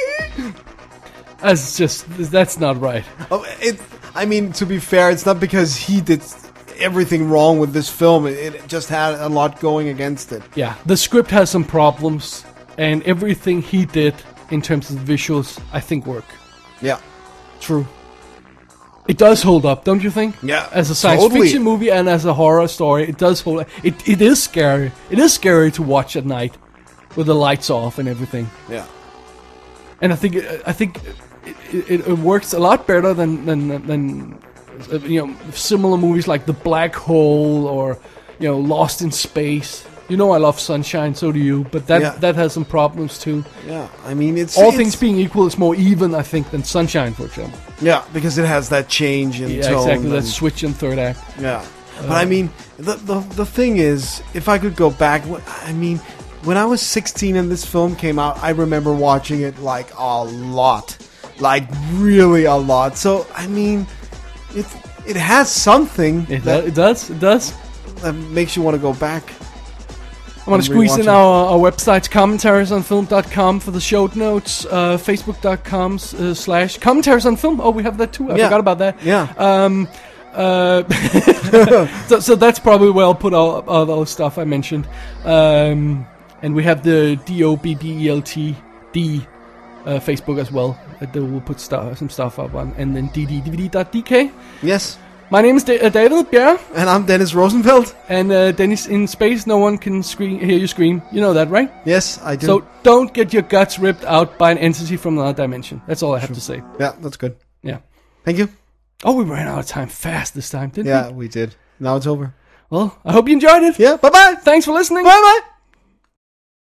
That's just that's not right. Oh, it, I mean, to be fair, it's not because he did everything wrong with this film. It, it just had a lot going against it. Yeah, the script has some problems, and everything he did in terms of visuals, I think, work. Yeah, true. It does hold up, don't you think? Yeah, As a science totally. fiction movie and as a horror story, it does hold up. It, it is scary. It is scary to watch at night with the lights off and everything. Yeah. And I think I think it, it, it works a lot better than than than uh, you know, similar movies like The Black Hole or, you know, Lost in Space. You know I love Sunshine, so do you. But that Yeah. that has some problems too. Yeah, I mean, it's All it's- things being equal, it's more even, I think, than Sunshine, for example. Yeah, because it has that change in Yeah, tone. exactly. That and- switch in third act. Yeah, but I mean, the, the the thing is, if I could go back, wh- I mean, when I was sixteen and this film came out, I remember watching it like a lot, like really a lot. So I mean, it it has something It, that, do- it does. It does. that makes you want to go back. I want And to squeeze in rewatch our, our websites, commentaries on film dot com for the show notes, uh, facebook dot com uh, slash commentaries on film. Oh, we have that too. I Yeah. forgot about that. Yeah, Um, uh, so, so that's probably where I'll put all, all those stuff I mentioned. Um, and we have the D O B B E L T D uh, Facebook as well. That we'll put stuff, some stuff up on. And then d d d v d dot d k. yes. My name is da- uh, David Bjerre. And I'm Dennis Rosenfeld. And uh, Dennis, in space, no one can scream, hear you scream. You know that, right? Yes, I do. So don't get your guts ripped out by an entity from another dimension. That's all I have to say. yeah, that's good. Yeah. Thank you. Oh, we ran out of time fast this time, didn't Yeah, we did. Now it's over. we? Well, I hope you enjoyed it. Yeah. Bye bye. Thanks for listening. Bye bye.